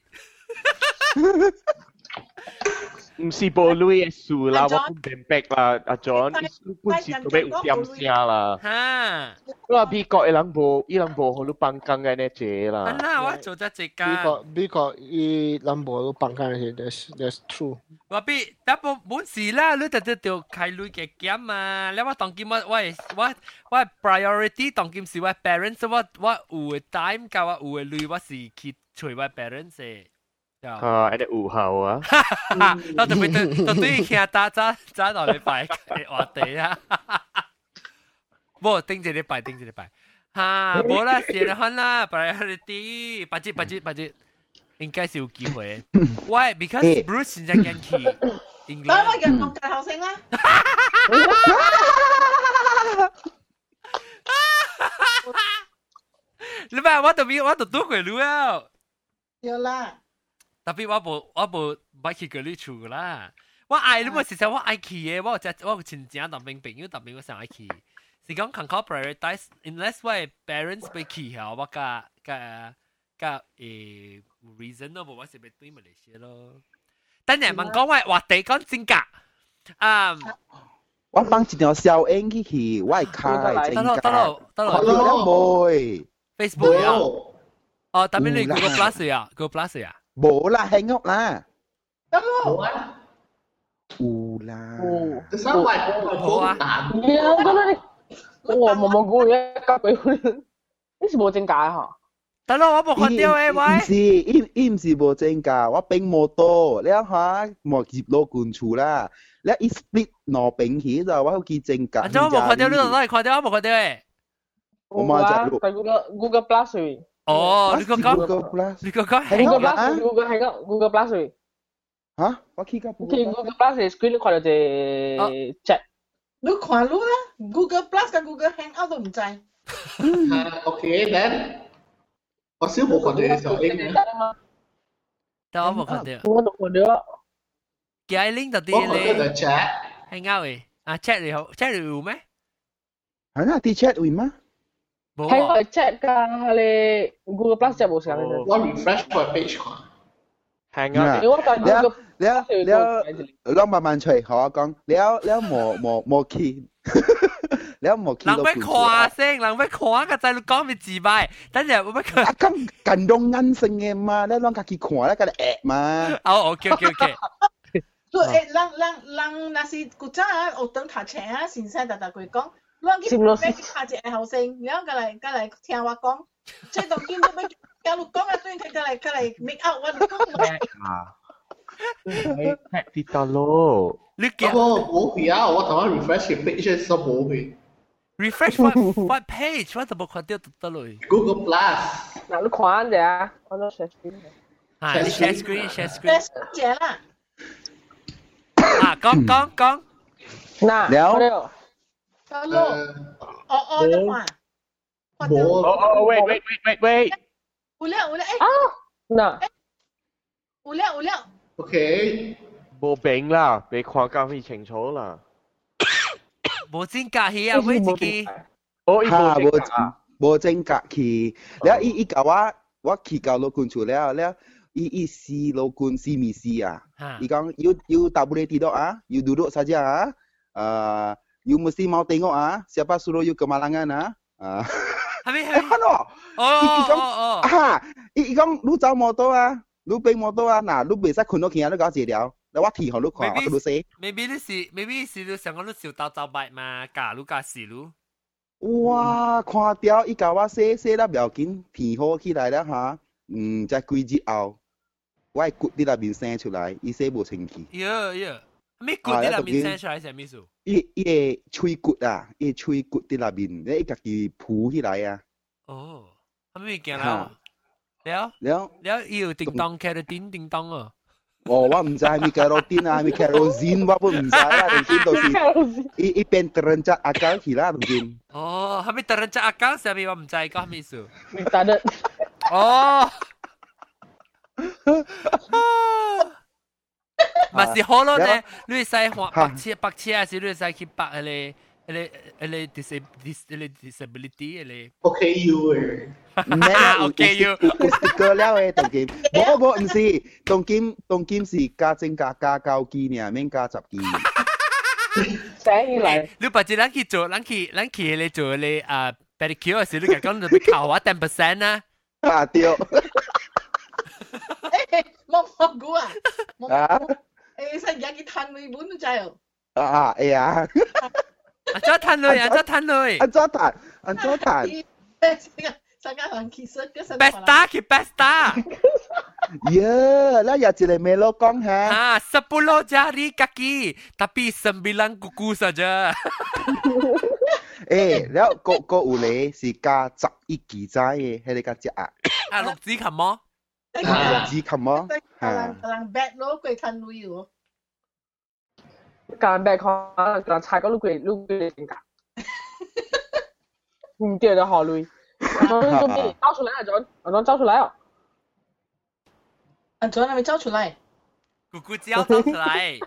唔是無雷嘅樹啦，我本明白啦，阿 John，本是做咩有點聲啦。 哈， 我美國嘅人無，伊人無好多放工嘅呢隻啦。 啊那我做得這個。 美國美國伊人無好放工嘅，that's that's true。 我比但冇冇事啦，你特特要開類嘅減嘛。你我當今我我我我 priority 當今是我 parents，我我有嘅 time 加我有嘅類，我是去隨我 parents 嘅。 啊，喺啲午後啊， 我特別對對聽打揸揸落禮拜嘅話題啊，冇頂住禮拜頂住禮拜，嚇冇啦，時間啦 ，priority，八折八折八折，應該是有機會。Why? Because Bruce 現在緊去 England。 等我人講大後聲啦。 你咪我度邊我度都會錄啊。 有啦。 特別我無我無捌去過你厝啦，我愛你冇時時我愛去嘅，我只我親戚當兵朋友當兵我想愛去，是講 control prioritize unless 我嘅 parents 被去後，我甲甲甲誒 reason 咯，無我是要對馬來西亞咯。等陣問講我話題講真假，啊， 我放一條小影去去，我係開得咯得咯得咯， 得咯妹 ，Facebook 啊，哦，特別你 Google Plus 啊 ，Google Plus 啊。 冇啦，Hangout 啦。 得咯。 有啦。 就三位好啊。 有得啦，我冇冇估嘅，交俾佢。呢是冇正解嗬。 得咯，我冇看到誒喂。 唔是，伊伊唔是冇正價，我並冇多。你睇下，莫接攞罐醋啦。你一 split 攞並起就我記正價。 啊，我冇看到，你度攞嚟看到，我冇看到誒。 我冇只錄。 喺 Google Google Plus。 哦，你個講，你個講係 Google Plus，Google 係個 Google Plus。 嚇？我企個 Google Google Plus screen 你看到隻 chat。 你看咯啦 ，Google Plus 同 Google Hangout 都唔制。 啊 ，OK then，我少冇看到嘅時候應嘅。 但我冇看到。 我都看到。 幾愛拎到啲我看到就 chat。 Hangout 誒，啊 chat 你好 ，chat 你有咩？ 係啦，啲 chat 會嗎？ 係我 check 㗎，你 Google Plus 就冇上嘅。 我 refresh 個 page 看。 Hangout。 你我講 Google， 你你你你慢慢吹，好我講，你你冇冇冇去，你冇去。 人咩看聲，人咩看個仔你講咪自敗，等陣我咩看。 啊咁近用眼性嘅嘛，你啷家己看咧，嗰啲 app 嘛。 哦 ，OK OK OK。 所以誒，人人人那是古早啊，學等讀冊啊，先生大大佢講。我見咩下隻係後生，然後過嚟過嚟聽我講，即係當見到咩教錄講啊，當然佢過嚟過嚟 make out 我講咩啊？係跌得咯。 你見我冇去啊，我頭先 refresh 嘅 page 都冇去。 refresh what what page？我就冇看到得咯。 Google Plus。 嗱，你看者啊，我都 share screen。 係 share screen share screen。 姐啦。 啊，講講講。 嗱， 了。 得咯，哦哦的話， 冇， 哦哦，wait wait wait wait wait， 有了有了，誒， 啊，嗱， 有了有了 ，OK， 冇病啦，未看到咁清楚啦， 冇真假戲啊，喂自己， 哦，伊冇真假， 無正格去，แล้วอีอีกว่าว่าขี่เก่าโลกุน處แล้วแล้วอีอีซีโลกุนซีมีซีอ่ะอี講 you you tak boleh tidur ah you duduk saja ah uh, you mesti mau tengok ah siapa suruh you kemalangan ah ah 係咪係？ 係咯，哦哦啊，伊伊講你走摩托啊，你飛摩托啊，嗱你袂使困到去啊，你搞治療，你我提互你看，我你死。 maybe 你是 maybe 是你想講你小刀走白嘛，假如假死lu。 哇，看掉伊甲我洗洗了不要緊，天好起來了哈，嗯，在幾日後，我係骨喺那邊生出來，伊洗無清氣。 呀呀，咩骨喺那邊生出來係咩數？ 伊伊個喙骨啊，伊個喙骨喺那邊，你家己鋪起來啊。 哦，係咩件啦？แล้วแล้วแล้ว伊有叮當開到叮叮當啊！ 哦，我唔知係咪 carotene 啊，係咪 kerosene， 我都唔知啦，總之就是伊伊變 terencat akal 去啦，總之。 哦，係咪 terencat akal？係咪我唔知講咩意思？ 你答得。 哦。咪是好咯咧，你使畫白車白車還是你使去白嗰啲嗰啲嗰啲 disability disability 嗰啲 ？OK U 誒。 咩啊 ？OK U 有 sticker 了誒，當金。冇冇唔是，當金當金是加正加加九支呢，免加十支。 醒起嚟， 你把隻人去做，人去人去嚟做你啊 pedicure 時，你講講就俾扣我 ten percent 啦。 啊對。 誒，冇蘑菇啊！啊！誒，使而家去攤你本都制哦。 啊哎呀！ 安怎攤落？安怎攤落？ 安怎攤？安怎攤？ Pesta 去 Pesta。 Ya, lah ya cile melo kong ha. Ah, sepuluh jari kaki, tapi sembilan kuku saja. Eh, แล้วก็ก็有咧是加十一支仔嘅，迄個加只啊。 啊，六支琴麼？ 啊，六支琴麼？ 可能可能 bad 咯，佢吞女喎。 การแบกของการชายก็ลูกเกดลูกเกด性格，唔記得好累。我做咩招出來啊？john，我講招出來哦。 阿 john 係咪招出嚟？ 姑姑只有招出嚟。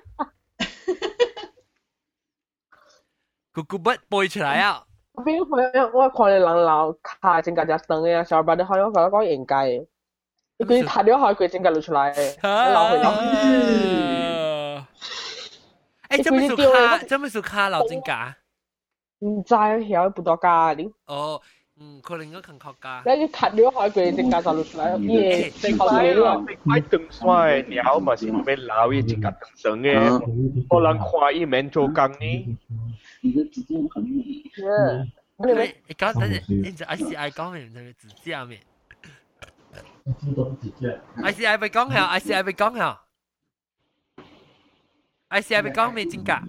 姑姑不背出嚟啊！ 我邊我我看你人老卡性格只長嘅，小白你可能覺得講應該嘅，佢睇咗下佢性格露出嚟，老佢老。 誒，做咩做卡？做咩做卡老正格？ 唔知曉不多加啲。 哦，嗯，可能我近靠加。 你睇咗下佢正格就露出嚟，耶！ 正快咯，正快長衰鳥嘛是咩老伊正格長嘅，可能看伊免做工呢。 嗯， 你你講等陣，你就 I C I 講明就指甲面。I C I 被講下 ，I C I 被講下。I C I 被講咩正格？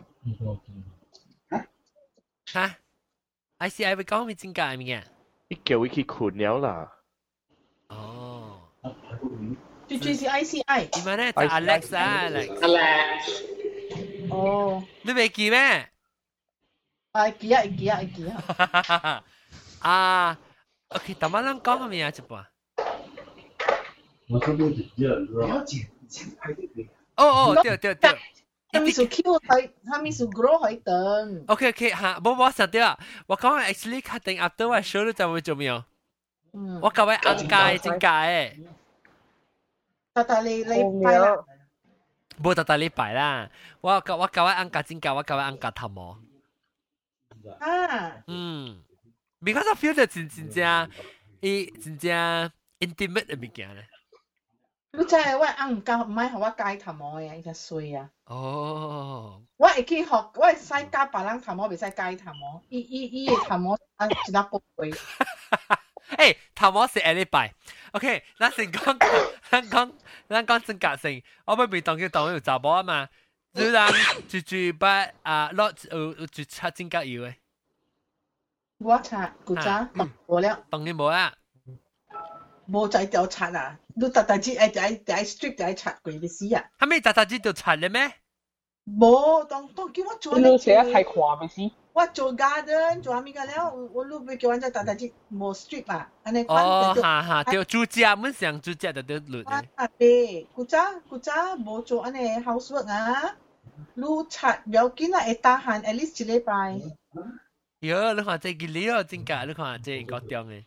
嚇 ？I C I 被講咩正格係咩嘅？ 你叫佢去困了啦。 哦。 最最是 I C I。 點解咧？就 Alex 啊 ，Alex。 Alex。哦。 你未記咩？ 啊，記啊，記啊，記啊。 啊 ，OK， 頭晚咱講係咩啊？一半。 我這邊直接了解，先拍這個。 哦哦，對對對。 他們是 Q 喺，他們是 grow 喺等。 OK OK 嚇，冇冇實啲啊！我講 actually 確定 after 我 show 你就會做咩啊？我教位按界正界誒。 特特你你拜啦。 冇特特你拜啦，我教我教位按界正界，我教位按界頭毛。 啊。 嗯 ，because I feel 就真真正，伊真正 intimate 嘅物件咧。 你真係我按教唔係學我戒頭毛嘅，伊隻衰啊！ 哦， 我會去學，我會使教別人頭毛，袂使戒頭毛。伊伊伊嘅頭毛啊，一粒寶貝。 誒，頭毛是下禮拜。OK，咱先講，咱講，咱講正格性。我咪未當叫當要查某啊嘛，就人住住不啊，落有有住擦正格要嘅。 我擦，古早冇了。 當然冇啊。 冇仔就刷啊！你特特之誒就係就係 strict 就係刷佢嘅事啊！ 係咪特特之就刷咧咩？ 冇，當當叫我做你寫得太誇咪先。 我做 garden 做咩嘅了？我路邊叫人家特特之冇 strict 啊！安尼哦，哈哈，對，住家本上住家就得律嘅。啊對，古早古早冇做安尼 housework 啊！你刷唔要緊啊，會打閒 at least 一禮拜。 哟，你看這個你哦，真假？你看這個點嘅，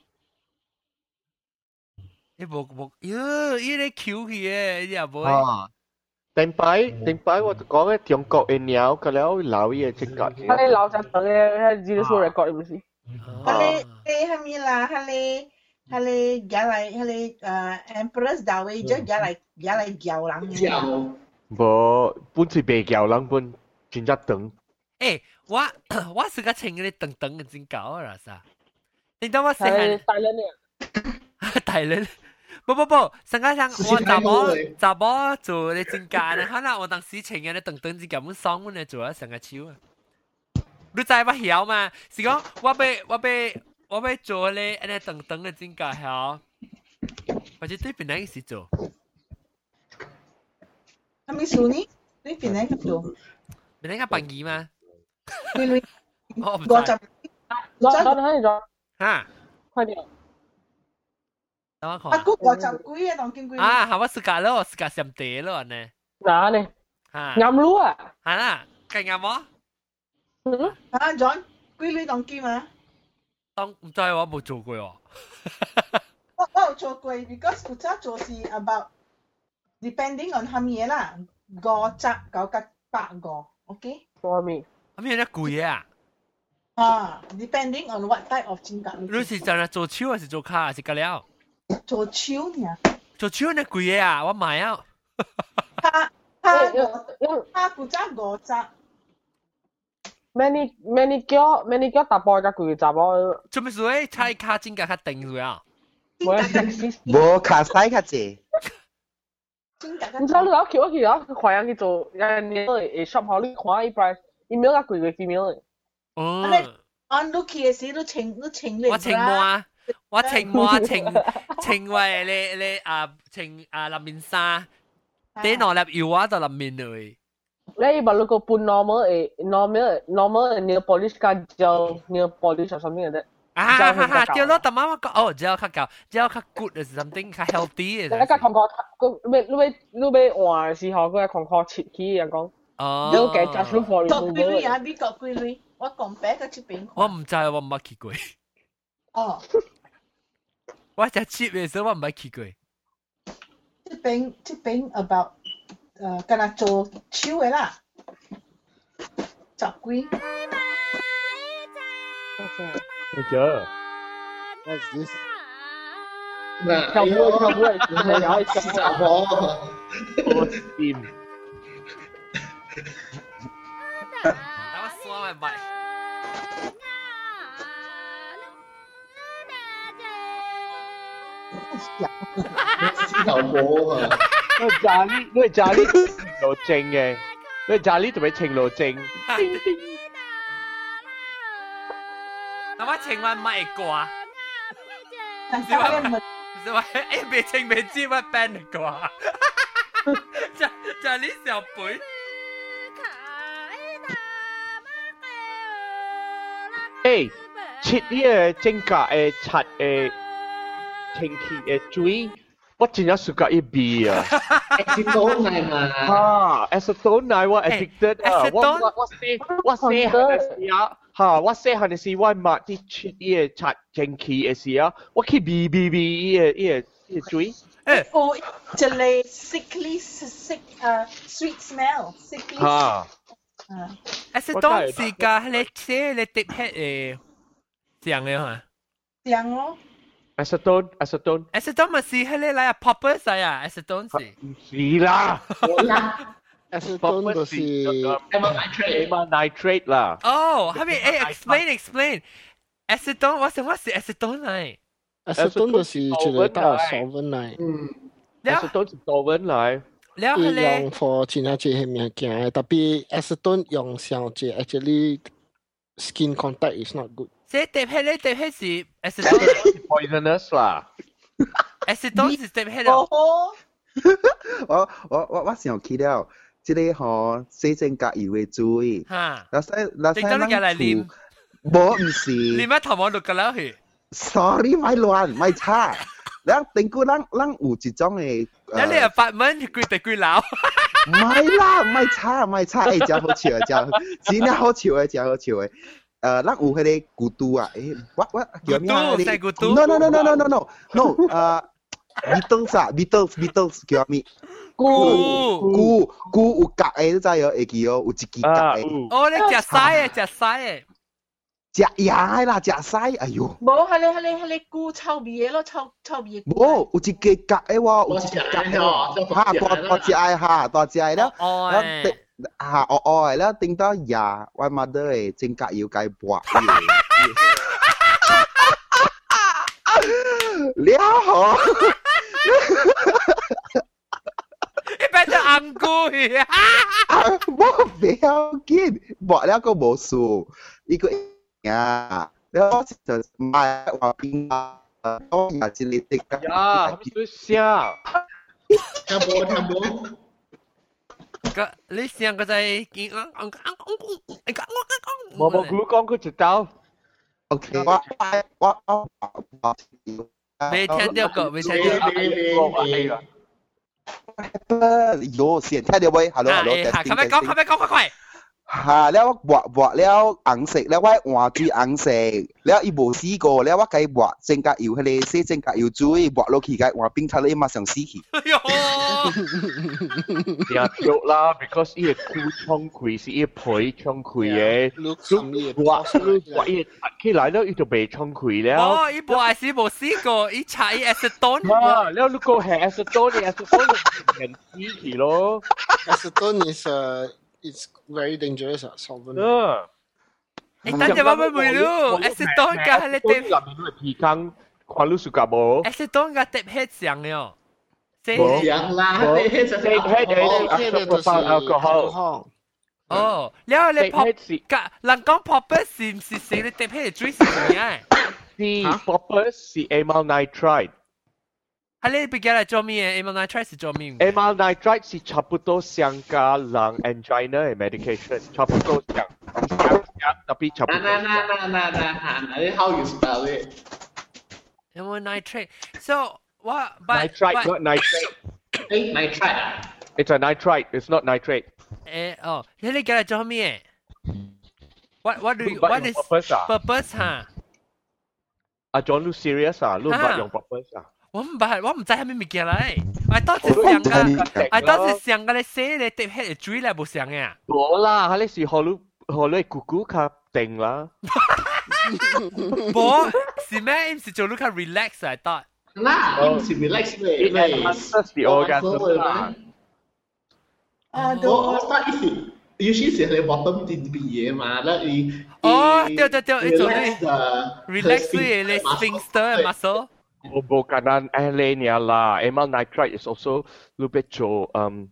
你冇冇哟，依啲 Q 去嘅，你又冇。 啊，定擺定擺，我講嘅中國嘅鳥，佢了老嘢真假。 佢哋老隻等嘅，資料數 record 唔是？ 佢哋誒係咪啦？佢哋佢哋而嚟佢哋誒 Empress Dowager 而嚟而嚟叫人嘅。 叫。 無，本是白叫人本真正長。 誒，我我是個穿嗰啲等等嘅真搞啊，啥？你當我細漢大人嘅， 大人。不不不，上個上我查某查某做你真假呢？可能我當時穿嘅你等等只咁爽，我嚟做啊成個超啊！你知我曉嘛？是講我要我要我要做咧，安尼等等嘅真假曉，或者對邊個時做？ 係咪數呢？對邊個做？ 邊個扮演嘛？ 對對， 我唔知。 我就我我睇咗嚇， 快啲。 啊，嗰個就幾啊，當見幾啊，係我自家咯，自家上地咯呢。 嗱呢， 嚇， 啱路啊， 係啦，計啱麼？ 嗯，啊 John，幾你當見嘛？ 當唔知我冇做過喎。 我我有做過 ，because 負責做是 about depending on 係乜嘢啦，五隻九個八個 ，OK？ 做咩？ 咁有啲貴啊？ 啊 ，depending on what type of 金價。 你是真係做手還是做卡還是隔了？ 做手呢？ 做手呢貴啊！我買啊！ 他他他負責五隻。 many many 叫 many 叫大波加貴雜波。 做咩事誒？猜卡真價卡定咗啊！ 無卡西卡濟。 唔知你攞橋去啊？佢快人去做人哋誒 shop 好，你看伊 price，伊秒加貴過 female 嘅。 哦。 按 look 嘅時都稱都稱你。 我稱我啊！我稱我啊！稱稱為你你啊稱啊林面沙，啲內粒油啊就林面嚟。 你把那個半 normal 誒 normal normal nail polish 加 gel nail polish or something like that。 啊哈哈！掉咯，但媽媽講哦，gel 較夠，gel 較 good 係 something 較 healthy 嘅。 你個狂狂，個你你你你換嘅時候，佢係狂狂切起人講。 哦。 你嘅 just look for removal。國貴啊，美國貴類，我講白個出邊。 我唔知，我唔捌去過。 哦。 我只 cheap 嘅時候，我唔捌去過。 出邊出邊 about 誒，跟佢做手嘅啦，十幾。 Okay. What's this? 跳舞跳舞係有一集喎。 我 steam。 等我刷埋麥。 獅頭波啊！ 因為炸呢，因為炸呢程路正嘅，因為炸呢同埋程路正。 那我請問乜歌？唔是話唔是話誒，未請未知乜 band 歌？就就係呢小輩。 誒，切呢個正價誒刷誒清氣誒水，我真係暑假一味啊 ！acetone 係嘛？ 啊 ，acetone 係我 addicted 啊！我我我寫我寫係時啊！嚇！我細漢嘅時，我買啲出伊個刷蒸氣嘅時啊，我去味味味伊個伊個伊個水。 誒，哦，一個 sickly sick 誒 sweet smell sickly。嚇！啊， 誒，當時個你寫你碟係誒醬嘅嚇。 醬咯。 acetone acetone。 acetone 咪是係你嚟啊 popper 仔啊 acetone 是。 唔是啦。 acetone 就是 amyl nitrate 啦。 哦，係咪誒 explain explain acetone 我想我是 acetone 嚟。 acetone 就是一個大 solvent 嚟。 嗯。acetone 是 solvent 嚟。 了係咧。 用 for 真係啲物件，特別 acetone 用上隻 actually skin contact is not good。 即碟係咧碟係是 acetone poisonous 啦。 acetone 是碟係咯。 我我我我想起了。即個吼洗淨隔油嘅水，嗱使嗱使咱厝，無唔是， 你乜頭毛錄㗎啦佢 ？Sorry，咪亂咪差，咱定估咱咱有一種嘅， 咱你八蚊貴地貴老， 唔係啦，咪差咪差，誒真好笑誒真，真係好笑誒真好笑誒， 呃，咱有迄个古都啊，诶，我我叫咩啊？ 古都，古都。 No no no no no no no no， 呃 ，Beatles 啊 ，Beatles Beatles 叫咩？ 菇菇菇有角诶，你知有会记哦，有一支角诶。 哦，你食屎诶，食屎诶。 食牙啦，食屎，哎呦！ 冇，係你係你係你菇臭味嘅咯，臭臭味嘅。 冇，有一支角诶喎，有一支角喎，嚇，多多隻誒嚇，多隻誒啦，แล้ว嚇，哦哦แล้ว頂到牙，我 mother 誒整甲要計薄嘢，了嗬。 你變咗紅菇去啊！ 冇唔要緊，薄了個冇數，呢個呀，แล้ว就買話邊啊，當日先你食㗎。 呀，係咪笑？ 聽冇聽冇？ 個你想個在見我我我我冇估講佢知道。 OK，我我我我未聽到過，未聽到。 有先聽到未 ？Hello hello， 快快講，快快講，快快！ 嚇！แล้วบวกบวกแล้วอังเสกแล้วว่าหัวจุยอังเสกแล้วอีโบซีโกแล้วว่าไก่บวกเจงกะอยู่ทะเลเซเจงกะอยู่จุยบวกโลขีไก่หัวปิ้งทะเลมาสั่งซีขี呀，對啦 ，because 伊個菇衝開是伊皮衝開嘅，如果如果伊拔起來了，伊就被衝開了。 哦，伊無係是無試過，伊搽伊 acetone。 啊，แล้ว如果係 acetone，acetone 係死去咯。 acetone is uh it's very dangerous 啊，solvent。 嗯。 誒，等陣我咪會咯 ，acetone 嘅係你哋。 入面都係皮糠，看你 suka 冇 ？acetone 嘅碟hết上了。 冇上啦，你迄就係 alcohol。 哦，แล้ว你 pop กะ人講 popper 是唔是是你碟hết 最是咩？ 是 popper 是 amyl nitrite。 係你邊個嚟做咩？amyl nitrite 是做咩 ？amyl nitrite 是差不多像個人 angina 嘅 medication， 差不多像，特別差不多。 那那那那那那，how you spell it? amyl nitrate. So what? But nitrite, not nitrate. Hey, nitrite. It's a nitrite. It's not nitrate. 誒哦，你你個嚟做咩？What what do you what is purpose 嚇？ 阿 John 你 serious 啊？你唔係用 purpose 啊？ 我唔係，我唔知係咩物件嚟。我當時想嘅，我當時想嘅你寫你碟喺水嚟冇想嘅。 冇啦，佢哋是學你學你姑姑卡定啦。 冇，是咩？唔是做你卡 relax 嚟得。 嗱，唔是 relax 咩？ 係 the orgasm 啦。 啊， 我 start if usually 是喺 bottom 啲啲嘢嘛，咧你哦，對對對，你做你 relax 啲你 sphincter muscle。 Bukan alenia lah. Amyl nitrite is also lu bit jo um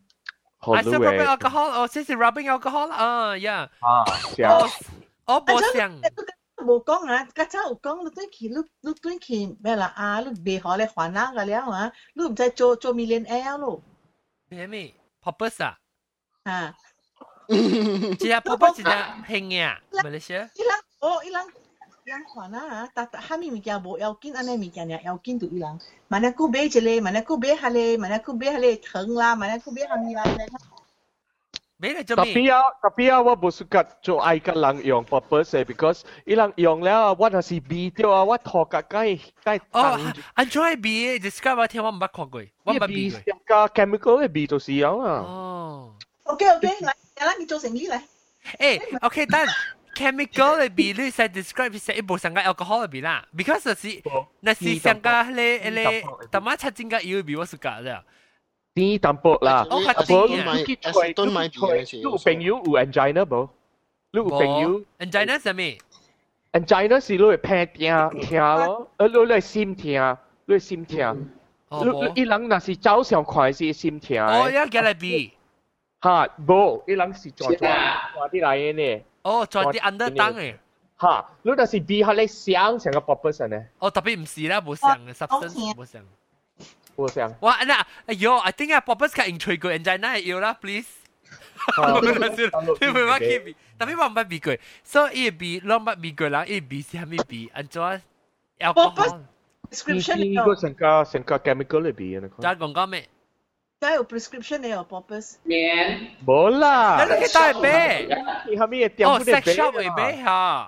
I said rubbing alcohol. Oh, this is rubbing alcohol. Ah, yeah. Ah, yeah. Oh, 冇想。 冇講啊，家陣有講，你對佢，你你對佢咩啦？啊，你未學你還那個了啊？你唔使做做 millionaire 咯？ 咩咩 ？Purpose 啊？ 啊， 只係 purpose 只興嘅，咪你寫？ 伊人哦，伊人。人看啊，但但蝦米物件無要緊，安尼物件呢要緊就伊人。萬一佢買一個，萬一佢買下咧，萬一佢買下咧糖啦，萬一佢買下米啦， 買嚟做咩？ Tapi 啊，tapi 啊，我唔 suka 做愛個人用 purpose ，because 伊人用了，我係是 B 掉啊，我頭殼該該。 哦 ，enjoy B describe 我聽我唔捌看過，我唔捌 B 過。 個 chemical 嘅 B 就是樣啊。 哦。 OK OK，嚟，嚟你做成呢嚟。 誒 ，OK，等。chemical 嘅比率係 describe 係一部上嘅 alcohol 嘅比啦 ，because 是那是上嘅咧咧，但係七精嘅油比我是假嘅。 啲淡薄啦， 我係啲嘅。acetone 買嘅你有朋友有 angina 冇？你有朋友 angina 係咩 ？angina 是你會怕痛痛咯，呃，你會心痛，你會心痛。你伊人那是早上看是心痛。 哦，要叫嚟比。 嚇，冇，伊人是做做做啲嚟嘅呢。 哦，在啲 under 檔嘅。 嚇，你但是 B 下你想成個 purpose 呢？ 哦，特別唔是啦，冇想嘅 substance 冇想。 冇想。 哇，嗱，哎呦 ，I think 啊 purpose 係 intrigue angina 要啦 ，please。你唔好 keep， 特別我唔捌 B 過，所以 B 攞乜 B 過啦，依 B 是係咩 B？按照 alcohol。 prescription 呢個成個成個 chemical 嚟 B 啊？ 就係講講咩？ 梗有 prescription 你有 purpose。 免。 冇啦。 你去帶去買。 你係咩店？ 哦 ，sex shop 會買嚇。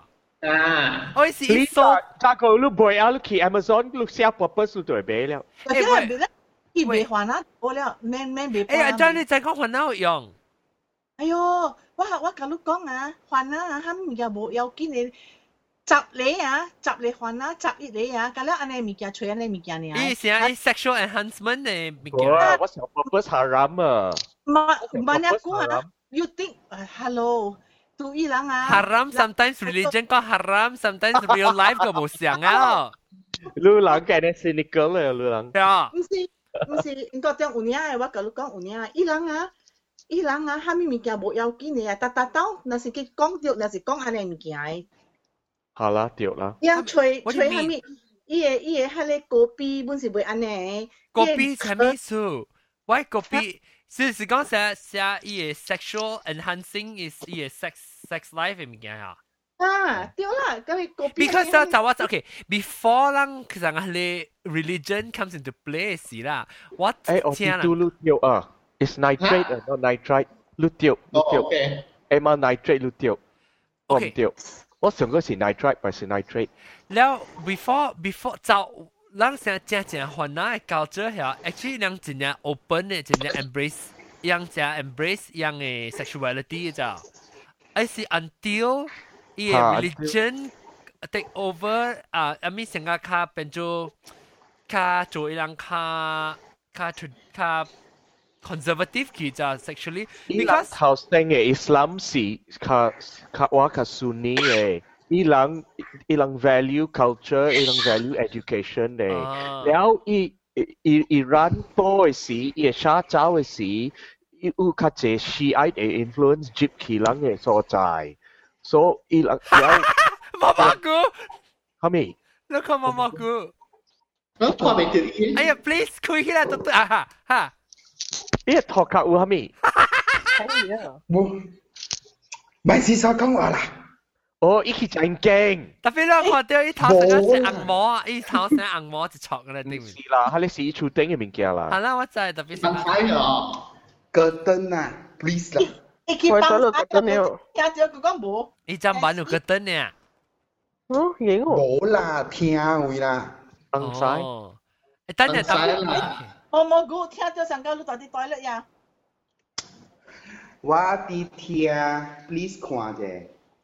啊， 我是你说， 加個你買啊，你去 Amazon 你寫 purpose 就會買了。 誒喂，伊袂還啊，我了，免免袂。 哎呀，張你再講還哪有用？ 哎呦，我我甲你講啊，還啊，哈物件無要緊嘅。十厘啊，十厘還啊，十一厘啊，咁了安尼物件吹安尼物件呢？ 伊是啊，伊 sexual enhancement 嘅物件。 哇，我想 purpose haram 啊。 唔唔你講啊 ，you think hello 對伊人啊 ？haram sometimes religion 個 haram sometimes real life 個無相啊。 你人嘅呢 cynical 咧，你人。 係啊。 唔是唔是，應該講有影嘅，我甲你講有影啊，伊人啊，伊人啊，哈物物件無要緊嘅啊，達達到，若是佢講着，若是講安尼物件嘅。 好啦，對啦。 伊人吹吹哈物，伊個伊個迄個果比本是袂安尼。 果比係咩數？喂，果比是是講寫寫伊個 sexual enhancing is 伊個 sex sex life 嘅物件啊。 啊，對啦，咁佢果比。 Because 就就話 OK before 人其實係 religion comes into play 時啦，我誒，我知道你掉啊 ，is nitrate 啊，not nitrite，你掉你掉，誒嘛 nitrate 你掉，我唔掉。我上個是 nitrite，唔是 nitrate。 แล้ว before before 就人成正正患難嘅 culture 係 actually 人真正 open 嘅，真正 embrace 人正 embrace 人嘅 sexuality 嘅就，係是 until 伊嘅 religion take over 啊，阿咪成個卡變做卡做一人卡卡卡 conservative 佢就 sexually because 頭先嘅 Islam 是卡卡話卡 Sunni 嘅，伊人伊人 value culture， 伊人 value education 嘅，然後伊伊伊人多嘅時，伊沙洲嘅時，伊有較濟 Shiite 嘅 influence 接佢人嘅所在，所以伊人然後媽媽姑， 係咪？ 你看媽媽姑， 我看未到伊。 哎呀 ，please 開起來都對啊哈哈。 呢個托卡有係咪？ 係啊， 冇，咪是所講話啦。 哦，伊去真驚。 特別咧，看到伊頭成個食紅毛啊，伊頭成紅毛就錯嘅啦，對唔是啦，係你是厝頂嘅物件啦。 係啦，我知特別。 唔使啊， 戈登啊 ，please 啦。 伊去幫下個，聽咗佢講無。 伊真版有個燈呢？ 嗯，影哦。 冇啦，聽位啦。 唔使。 誒，等陣等陣。 我冇估聽咗上個你到底對了呀？ 我啲聽 ，please 看者。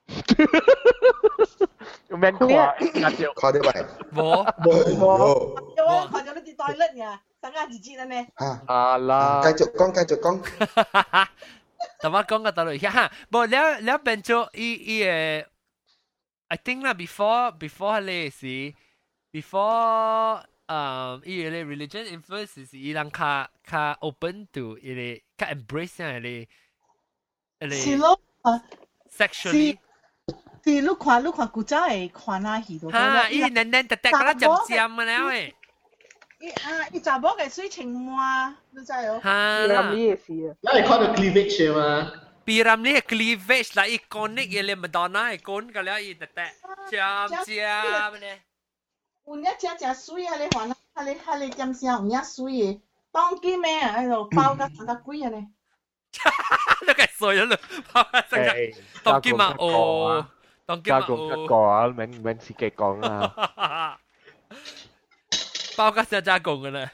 免看，看到看到未？ 冇冇。 我看咗你啲對了呀，上個字字啦呢。 嚇！ 啊啦。 繼續講，繼續講。 但我講個道理嚇，冇了了變做伊伊誒 ，I think 啦，before before 咧是 before。Um, 伊個 religion influence 是伊人較較 open to 伊個較 embrace 啊，伊個伊是咯， sexually。 是你看你看古早嘅看下戲度。 嚇！伊嫩嫩特特嗰粒尖尖嘅了誒。 伊啊，伊查某嘅水情滿，你知哦？ 嚇！ 咁呢個事啊。 那你看到 cleavage 嘛 ？Piram 呢個 cleavage 啦，伊 connect 伊個 Madonna 係 connect 個了，伊特特尖尖咧。 有影正正水啊！你看啊，啊你啊你點聲有影水嘅，當機咩啊？喺度包甲三甲幾啊呢？ 你計衰咗啦，包甲三甲，當機嘛哦，當機嘛哦。 加講一個啊，免免自己講啦。 包甲三加講嘅咧。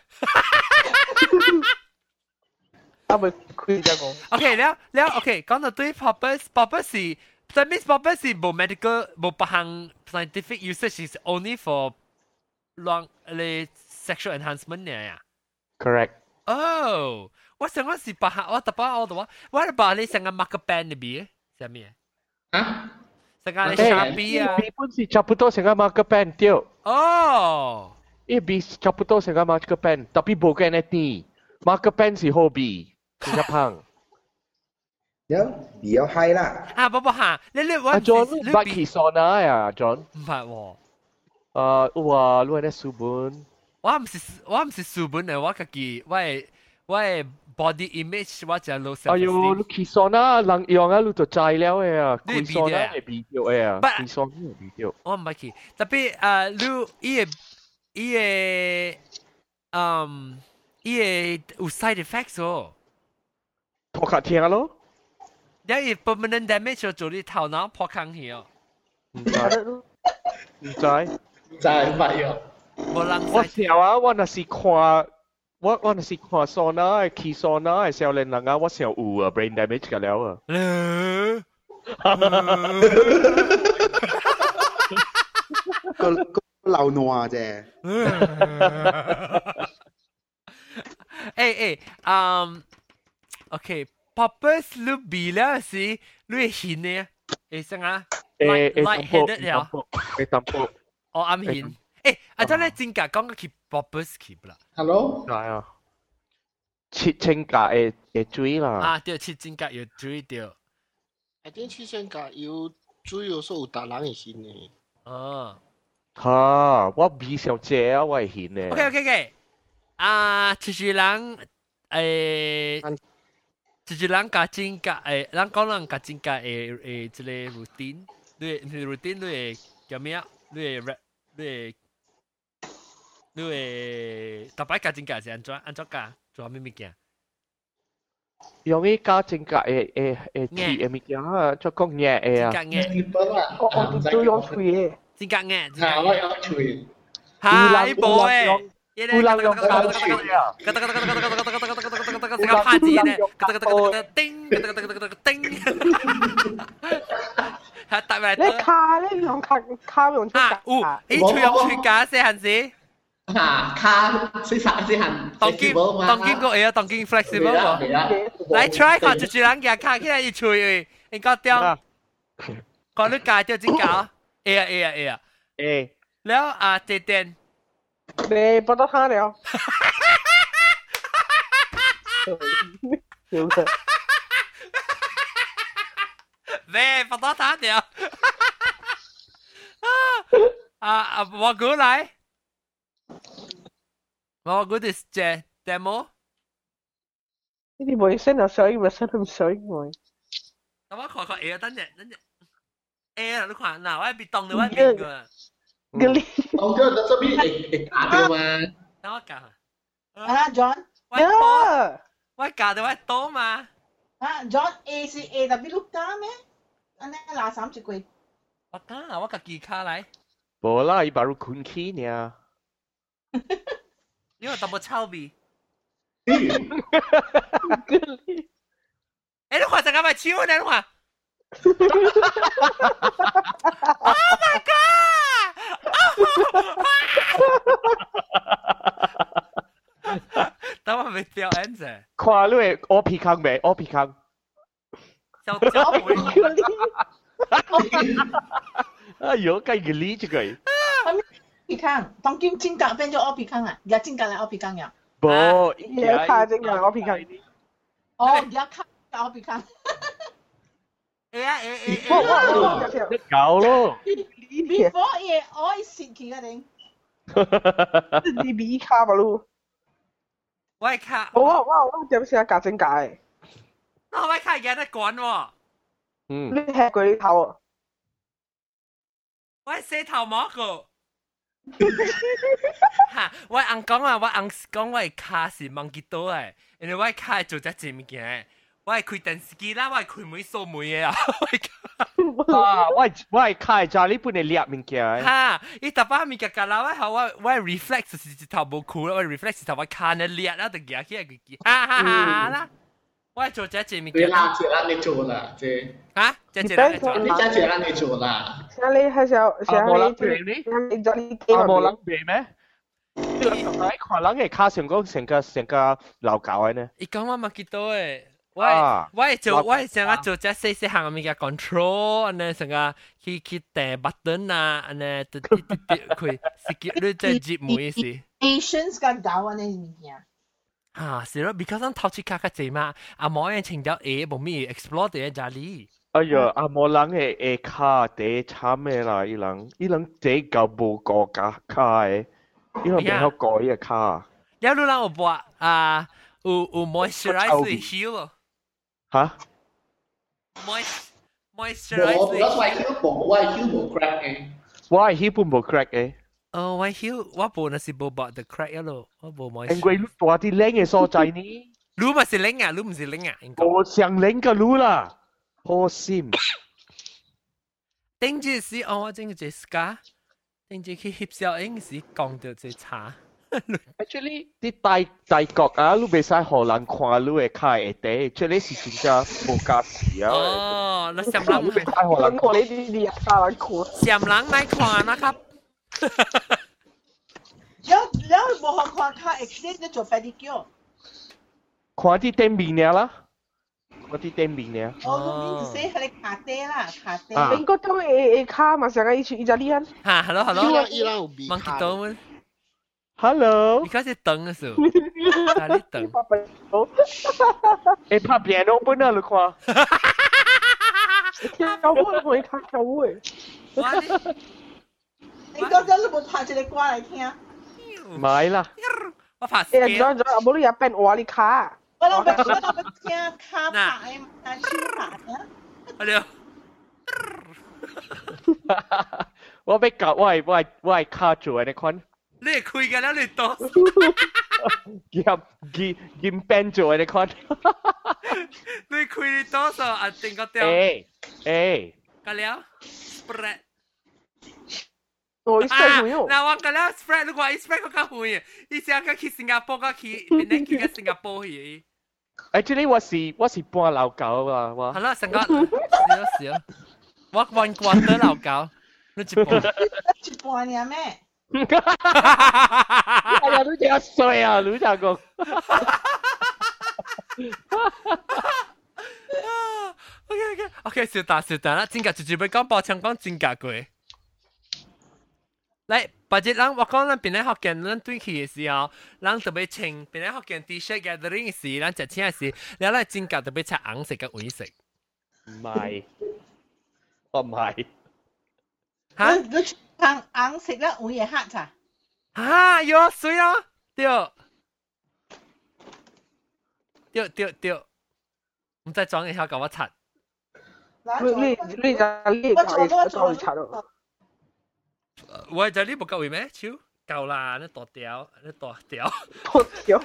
啊咪佢就講。 OK，了了 OK，講到對 purpose，purpose 是，但 means purpose 是冇 medical 冇別項 scientific usage is only for long 你 sexual enhancement 呀。 Correct。 哦，我想講是別項，我特別我度話，我係把你成個 marker pen 入邊，係咩？ 啊？ 成個你 Sharpie 啊？ 筆本是差不多成個 marker pen 掉。 哦。 一筆差不多成個 marker pen，tapi bukan nanti marker pen 是 hobby， 是胖。 有比較嗨啦。 啊，不不嚇，你你我。 阿 John， 你 back 起上來呀 ，John。 唔係喎。 啊，哇！你係書本， 我唔是我唔是書本嘅，我自己我係我係 body image 我就 low self esteem。 哎呦，你起上啦，人用啊，你就知了嘅啊， 你起上啦係 video 嘅啊，起上係 video。 我唔係去，特別誒，你伊個伊個嗯伊個有 side effects 哦。 托卡聽咯。 因為 permanent damage 做你頭腦破坑去哦。 唔知唔知唔知乜嘢？ 無人我小啊，我若是看我我若是看 sauna 去 sauna 嘅時候，你人啊，我想有啊 brain damage 㗎了啊。 個個流挪啫。 誒誒，嗯 ，OK，purpose 你bila si 你係顯嘅，誒生啊誒 light headed 了， 誒淡薄， 我暗顯。誒，阿真咧真格講個去 purpose 去啦。 Hello？ 係啊，切清格誒誒水啦。 啊，對，切真格要水掉。 I think 切清格要水有時候有達人會顯嘅。 哦。 嚇！我未想借啊，我係顯嘅。 OK OK OK。啊，就是人誒，就是人甲真格誒，人講人甲真格誒誒，即個 routine，你你 routine 你會叫咩啊？你會 rap， 你會你會特別甲真格是安怎安怎教？做咩物件？ 用啲加真格誒誒誒貼嘅物件啊，做講嘢誒啊。 真格嘢。 我我都用吹嘅。 真格嘢。 嚇！我有吹。 嚇！呢部誒。 烏蘭用膠水啊！ 成個拍子咧，叮叮，係特別。 你卡咧用卡卡用出格。 哦，你吹用吹架先係先。 嚇！卡先實先係。 當劍當劍個嘢，當劍 flexible 喎。嚟 try 看住住人嘅卡，起來一吹，你覺得？講你架掉真架？誒啊誒啊誒啊！ 誒， แล้ว啊เจเจน你不得他了。有的。 喂，不得他了。啊啊，我過來。我過嚟借 demo。 呢啲冇聲就水，咪聲唔水我。 咁我看看誒，等陣等陣。誒，你看嗱，我係別當你我面個。 Geli. Oh, dia dah sebut eh ada mah. Tahu kah? Ah, John. Ya. 我教到我多嘛。 Ah, John A 是 A 特別碌加咩？安尼拿三隻龜。 我教啊，我個記卡嚟。 冇啦，伊 baru kunci 呢。 因為特別臭味。 Geli. 誒，你看成個咪超呢？你看。Oh my god! Tao mà bị tiêu án rồi. 看你係屙屁坑未？屙屁坑。 小小妹。 哎呦，計個呢隻佢。 屁坑，當劍尖格變咗屙屁坑啊！而家尖格嚟屙屁坑呀。 冇， 而家尖格屙屁坑。 哦，而家卡屙屁坑。 誒啊誒誒誒！你搞咯。 Before 嘢愛蝕佢嘅定。 你比卡吧咯。 我卡。 我我我點先夾整解？ 我我卡嘢得滾喎。 嗯。 你係佢頭啊？ 我洗頭毛個。嚇！我硬講啊，我硬講我卡是忘記到誒，因為我卡做只字物件。我係開電視機啦，我係開每數每嘢啊！ 啊，我係我係開咗呢本嚟獵物件。 嚇！伊特巴物件㗎啦，我係我我係 reflex 是頭冇酷啦，我 reflex 頭我看你獵啦，就夾起嚟佢哈哈哈啦！我係做只隻物件。 對啦，這讓你做啦，這。 嚇？只隻讓你做。 你只隻讓你做啦。 想你係想想你做，你做你幾個？冇諗咩咩？呢個上海可能係卡成個成個成個流搞嘅呢？ 伊講我冇見到誒。我我係做我係成日做只細細行嘅物件 control，安尼成個去去訂 button 啊，安尼滴滴滴滴佢 skip 你再接每事。 Asians 嘅搞安尼物件。 啊，是咯 ，because 我頭次卡卡濟嘛，阿冇人情到誒，冇咩 explore 啲嘢哩。 哎呀，阿冇人係誒卡地慘嘅啦，伊人伊人地夠冇個卡卡嘅，伊人邊有改嘅卡。 有路人有播啊，有有 moisturize heal 咯。 嚇 ？moist moisturize。 冇，我係 heal 冇，我係 heal 冇 crack 嘅。 我係 heal 冇 crack 嘅。 哦，我 heal 我冇那是冇把 the crack 一路，我冇 moist。 因為你話啲靚嘅所在呢？ 你咪是靚啊，你唔是靚啊？ 我想靚嘅你啦，好心。 頂住時哦，我整個隻 scar，頂住去翕相影時講到隻茶。 Actually，啲大大國啊，你袂使互人看你嘅卡會地，即係是真正無價值啊。 哦，那上人你袂使互人看你啲啲啊，人看。 上人咪看นะครับ。 แล้วแล้วบ่好看卡 exchange 就做 pedicure。 看啲店面嘅啦。我啲店面嘅。 哦，你寫係卡爹啦，卡爹。 英國都誒誒卡嘛，成日一去意大利人。 嚇 ，hello hello。 伊朗伊朗有比卡。 Hello。 你嗰隻等嘅時候，哪裡等？ 誒，拍piano本啊，你看。 跳舞你可以睇跳舞誒。 你覺得你冇拍一個歌嚟聽？ 唔係啦。 我拍。 誒，咗咗，阿冇你入邊話你卡。 我諗俾我諗俾聽卡牌啊，超牌啊！ 我哋， 我俾教我係我係我係卡住嘅，你看。 你係開嘅啦，你多。 夾兼兼 band 住嘅，你看。 你開你多數啊？定個掉。 誒誒。 個了 spread。 我 spread 會用。 嗱，我個了 spread，如果 spread 個較會，以前個去新加坡個去，邊啲去個新加坡去。 Actually，我是我是半老狗啊，我。 係啦，成個少少，我one quarter老狗，你一半。 一半呀咩？ 哎呀，你真衰啊，你真講。 OK OK OK，小達小達啦，真格直接要講抱歉講真格過。嚟，或者人我講咱邊咧學見咱對起嘅時候，咱特別穿邊咧學見 T-shirt gathering 嘅時，咱食錢嘅時，你咧真格特別擦紅色嘅黃色。 唔係，我唔係。 嚇？你穿紅色咧，黃嘢黑咋？ 啊，有水啊，對，對對對，唔再裝一下搞我擦。 你你你就你搞搞你擦咯。 我就呢部夠位咩？超夠啦，你剁掉，你剁掉， 剁掉。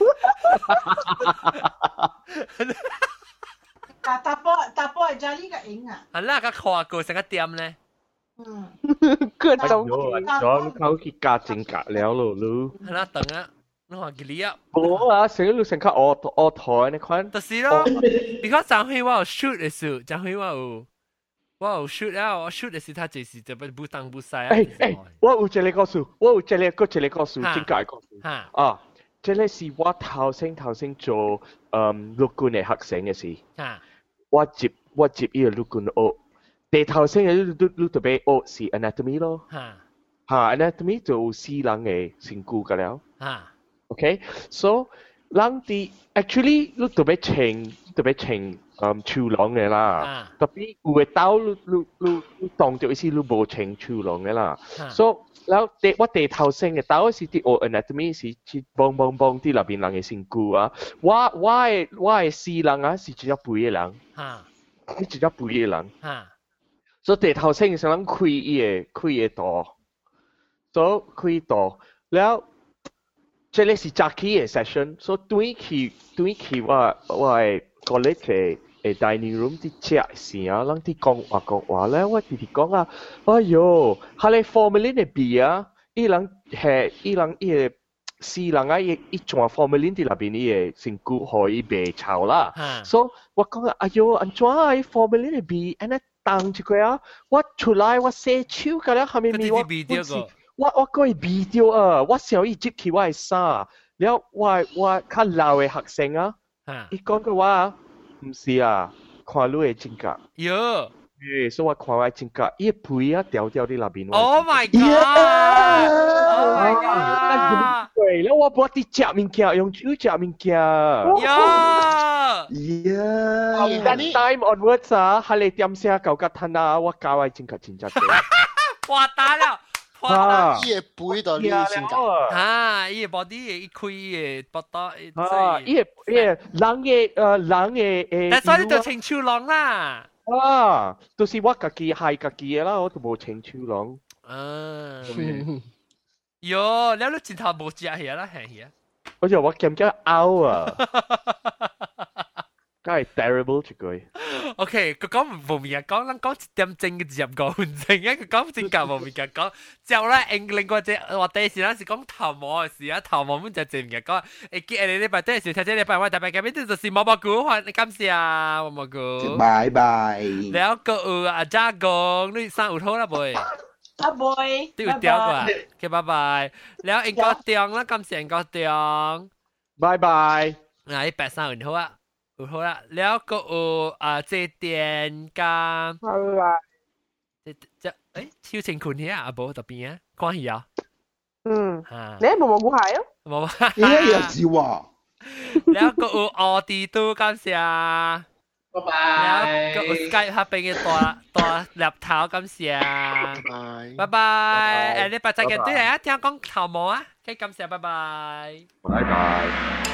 但但波但波係就呢個影啊。 係啦，個跨過成個點咧。 嗯。 各種。 咗靠去加正格了咯，你。 係啦，等啊，你話幾粒啊？ 我啊，成日成個我我台你看。 就是咯，你講張輝我有 shoot 嘅時候，張輝我有。我有 shoot 啊！我 shoot 嘅時，他就是就不不當不晒啊！ 誒誒，我有一個故事，我有一個個一個故事，真解故事。啊，這個是我頭先頭先做嗯陸軍嘅學生嘅事。我接我接呢個陸軍學，第頭先嘅你你特別學是 anatomy 咯。嚇 anatomy 就四人嘅身軀㗎了。OK，so 人哋 actually 你特別清特別清。嗯，超浪嘅啦，特別有嘅刀，你你你你當咗一時你無清超浪嘅啦，所以然後第我第頭先嘅刀是啲學 anatomy 是去幫幫幫啲入邊人嘅身軀啊，我我嘅我嘅四人啊是只隻背嘅人，你只隻背嘅人，所以第頭先嘅時候人開伊嘅開嘅刀，所以開刀，然後這裡是 Jackie 嘅 session，所以對佢對佢我我係個咧嘅。誒 dining room 啲食時啊，人哋講話講話咧，我哋哋講啊，哎喲，下嚟 formalin 嘅 B 啊，伊人係伊人伊個四人啊，伊伊種 formalin 啲入邊啲嘢成骨可以白炒啦，所以我講啊，哎喲，安怎啊 formalin 嘅 B，安尼當住佢啊，我出來我寫手㗎啦，後面咪我我我個係 B 掉啊，我想伊接起我係啥，然後我我較老嘅學生啊，伊講嘅話。唔是啊，看你嘅性格。 有。 誒，所以我看我嘅性格，伊背啊掉掉啲入邊。 Oh my god！Oh my god！ 對，然後我幫啲食物件，用手食物件。 呀！ 呀！但 time onwards 啊，係你點寫舊吉吞啊？我教我性格真真嘅。 哇！打了。 啊！伊個背到你性格。 啊！伊個 body 伊開伊個膊頭。 啊！伊個伊個人嘅誒人嘅誒。 但所以你就青超郎啦。 啊！就是我家己係家己嘅啦，我都冇青超郎。 啊！喲，你都前頭冇食嘢啦，係嘢。 我就我咁加拗啊！梗係 terrible 一句。 OK，佢講無面嘅講，咱講一點鐘嘅十五分鐘啊！佢講真假無面嘅講，之後咧，另另外隻話第時嗰時講頭毛嘅事啊，頭毛本就正嘅講，誒見你禮拜第時睇睇禮拜我特別嘅邊啲就是毛毛菇，歡你感謝啊，毛毛菇。 拜拜。 แล้วก็เอออาจารย์กงนี่สร้างอุทโธนะบ่อย阿妹， 都要掉啊，OK，拜拜。แล้วเองก็เตียงแล้ว感謝เองก็เตียง拜拜。 嗱，八三五好啊。好啦，แล้วก็เอออ่าเจเตียนกับ拜拜。 即即誒，超情款嘅阿寶特邊啊，關係啊， 嗯， 嚇， 你冇冇估係啊？ 冇， 咦又是喎， แล้วก็有我哋都感謝， 拜拜。 แล้วก็有 Skype 下邊嘅大大laptop頭感謝，拜拜，誒，你拜再見，對嚟啊，聽講頭毛啊，可以感謝，拜拜， 拜拜。